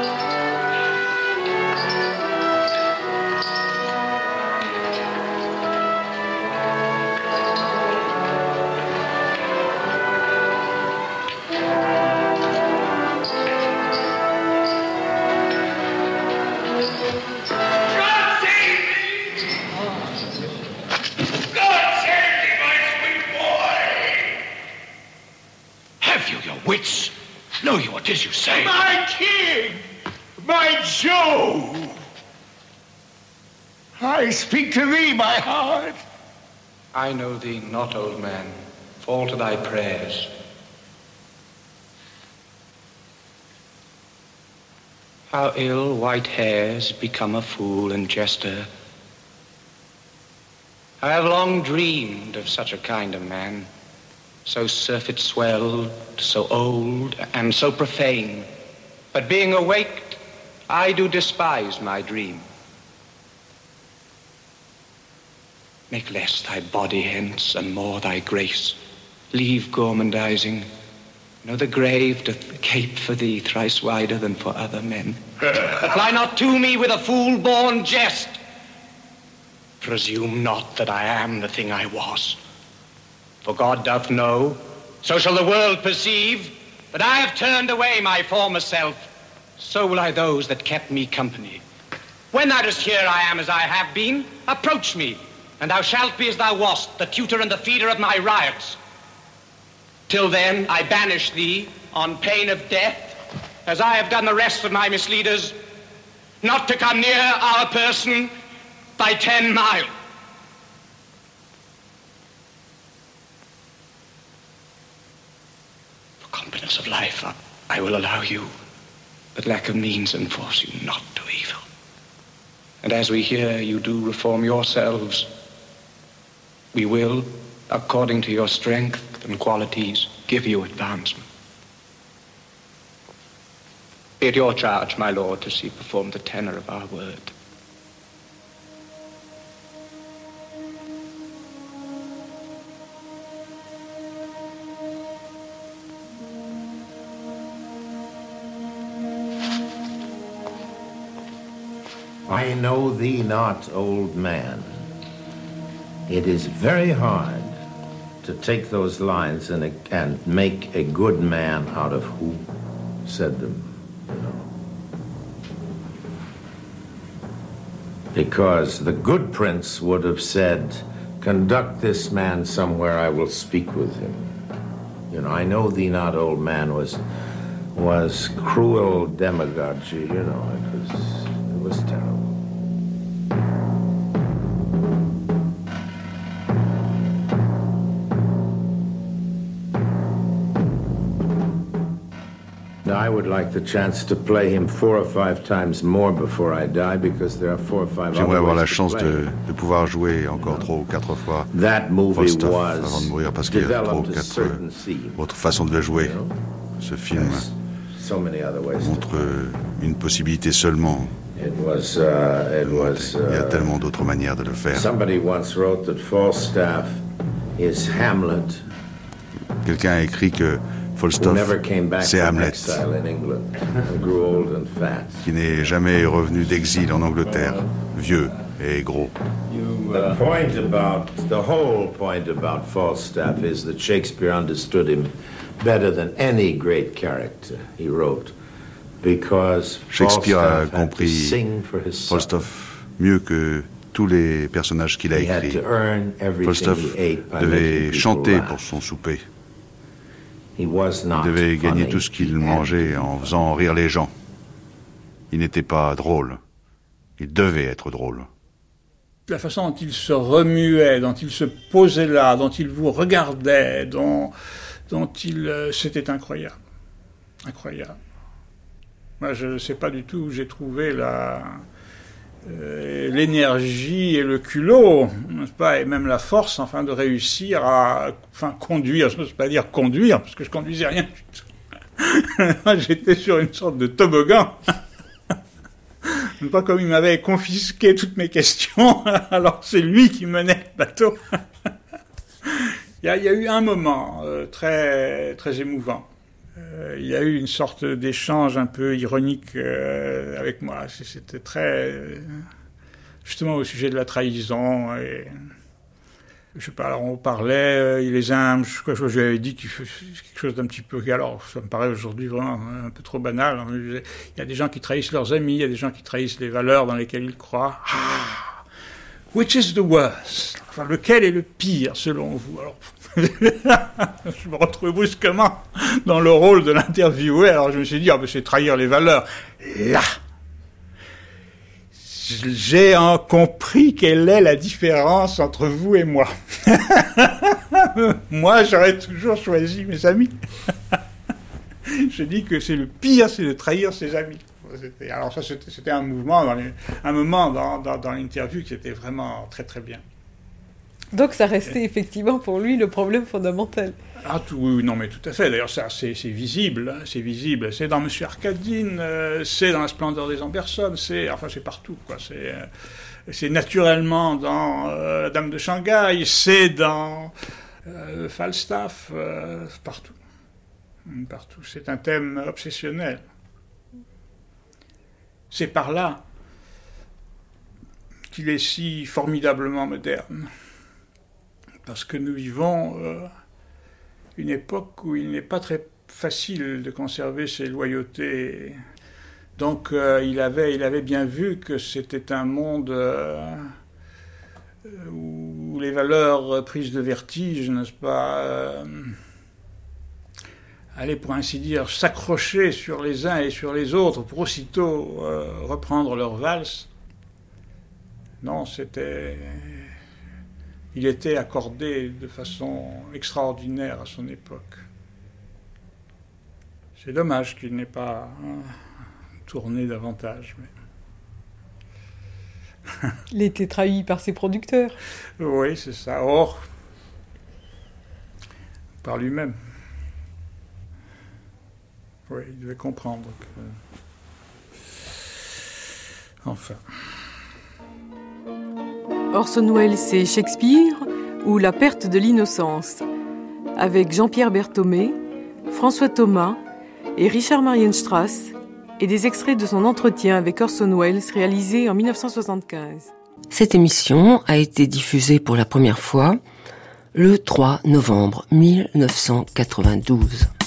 I speak to thee, my heart. I know thee not, old man. Fall to thy prayers. How ill white hairs become a fool and jester. I have long dreamed of such a kind of man, so surfeit-swelled, so old, and so profane. But being awaked, I do despise my dream. Make less thy body hence, and more thy grace. Leave gormandizing. Know the grave doth gape for thee thrice wider than for other men. Apply not to me with a fool-born jest. Presume not that I am the thing I was. For God doth know, so shall the world perceive, that I have turned away my former self. So will I those that kept me company. When thou dost hear I am as I have been, approach me, and thou shalt be as thou wast, the tutor and the feeder of my riots. Till then, I banish thee on pain of death, as I have done the rest of my misleaders, not to come near our person by 10 miles. For competence of life, I will allow you, but lack of means enforce you not to evil. And as we hear you do reform yourselves, we will, according to your strength and qualities, give you advancement. Be it your charge, my lord, to see performed the tenor of our word. I know thee not, old man. It is very hard to take those lines and make a good man out of who said them, you know. Because the good prince would have said, conduct this man somewhere, I will speak with him. You know, I know thee not, old man was cruel demagogy, you know, it was terrible. I would like the chance to play him 4 or 5 times more before I die, because there are 4 or 5 J'aimerais avoir la chance de pouvoir jouer encore 3 ou 4 fois Falstaff avant de mourir, parce qu'il y a 3 ou 4 autres façons de le jouer. Ce film montre une possibilité seulement. Il y a tellement d'autres manières de le faire. Somebody once wrote that Falstaff is Hamlet. Quelqu'un a écrit que Falstaff, c'est Hamlet, qui n'est jamais revenu d'exil en Angleterre, vieux et gros. The whole point about Falstaff is that Shakespeare understood him better than any great character he wrote, because Shakespeare a compris Falstaff mieux que tous les personnages qu'il a écrits. Falstaff devait chanter pour son souper. Il devait gagner tout ce qu'il mangeait en faisant rire les gens. Il n'était pas drôle. Il devait être drôle. La façon dont il se remuait, dont il se posait là, dont il vous regardait, dont il... c'était incroyable. Incroyable. Moi, je ne sais pas du tout où j'ai trouvé l'énergie et le culot, n'est-ce pas, et même la force, enfin, de réussir à conduire. Je ne veux pas dire conduire, parce que je conduisais rien du tout. Moi, j'étais sur une sorte de toboggan. Pas comme il m'avait confisqué toutes mes questions, alors c'est lui qui menait le bateau. Il y a eu un moment très, très émouvant. Il y a eu une sorte d'échange un peu ironique avec moi. C'était très... justement au sujet de la trahison. Et, je sais pas, alors on parlait, il les aime, je lui avais dit quelque chose d'un petit peu... Alors, ça me paraît aujourd'hui vraiment un peu trop banal. Il y a des gens qui trahissent leurs amis, il y a des gens qui trahissent les valeurs dans lesquelles ils croient. Ah, which is the worst? Enfin, lequel est le pire, selon vous? Alors, je me retrouve brusquement dans le rôle de l'interviewé, alors je me suis dit, c'est trahir les valeurs. Là, j'ai compris quelle est la différence entre vous et moi. Moi, j'aurais toujours choisi mes amis. Je dis que c'est le pire, c'est de trahir ses amis. Alors ça, c'était un moment dans l'interview qui était vraiment très très bien. Donc ça restait effectivement pour lui le problème fondamental. Ah oui, non mais tout à fait. D'ailleurs ça c'est visible, c'est visible. C'est dans Monsieur Arkadine, c'est dans La Splendeur des Amberson, c'est partout quoi. C'est naturellement dans La Dame de Shanghai, c'est dans Falstaff, partout. Partout. C'est un thème obsessionnel. C'est par là qu'il est si formidablement moderne. Parce que nous vivons une époque où il n'est pas très facile de conserver ses loyautés. Donc il avait bien vu que c'était un monde où les valeurs prises de vertige, n'est-ce pas, allaient pour ainsi dire s'accrocher sur les uns et sur les autres pour aussitôt reprendre leur valse. Non, il était accordé de façon extraordinaire à son époque. C'est dommage qu'il n'ait pas tourné davantage. Mais... Il était trahi par ses producteurs. Oui, c'est ça. Or, par lui-même. Oui, il devait comprendre que... Enfin... Orson Welles, c'est Shakespeare ou La perte de l'innocence, avec Jean-Pierre Berthomé, François Thomas et Richard Marienstrass, et des extraits de son entretien avec Orson Welles réalisé en 1975. Cette émission a été diffusée pour la première fois le 3 novembre 1992.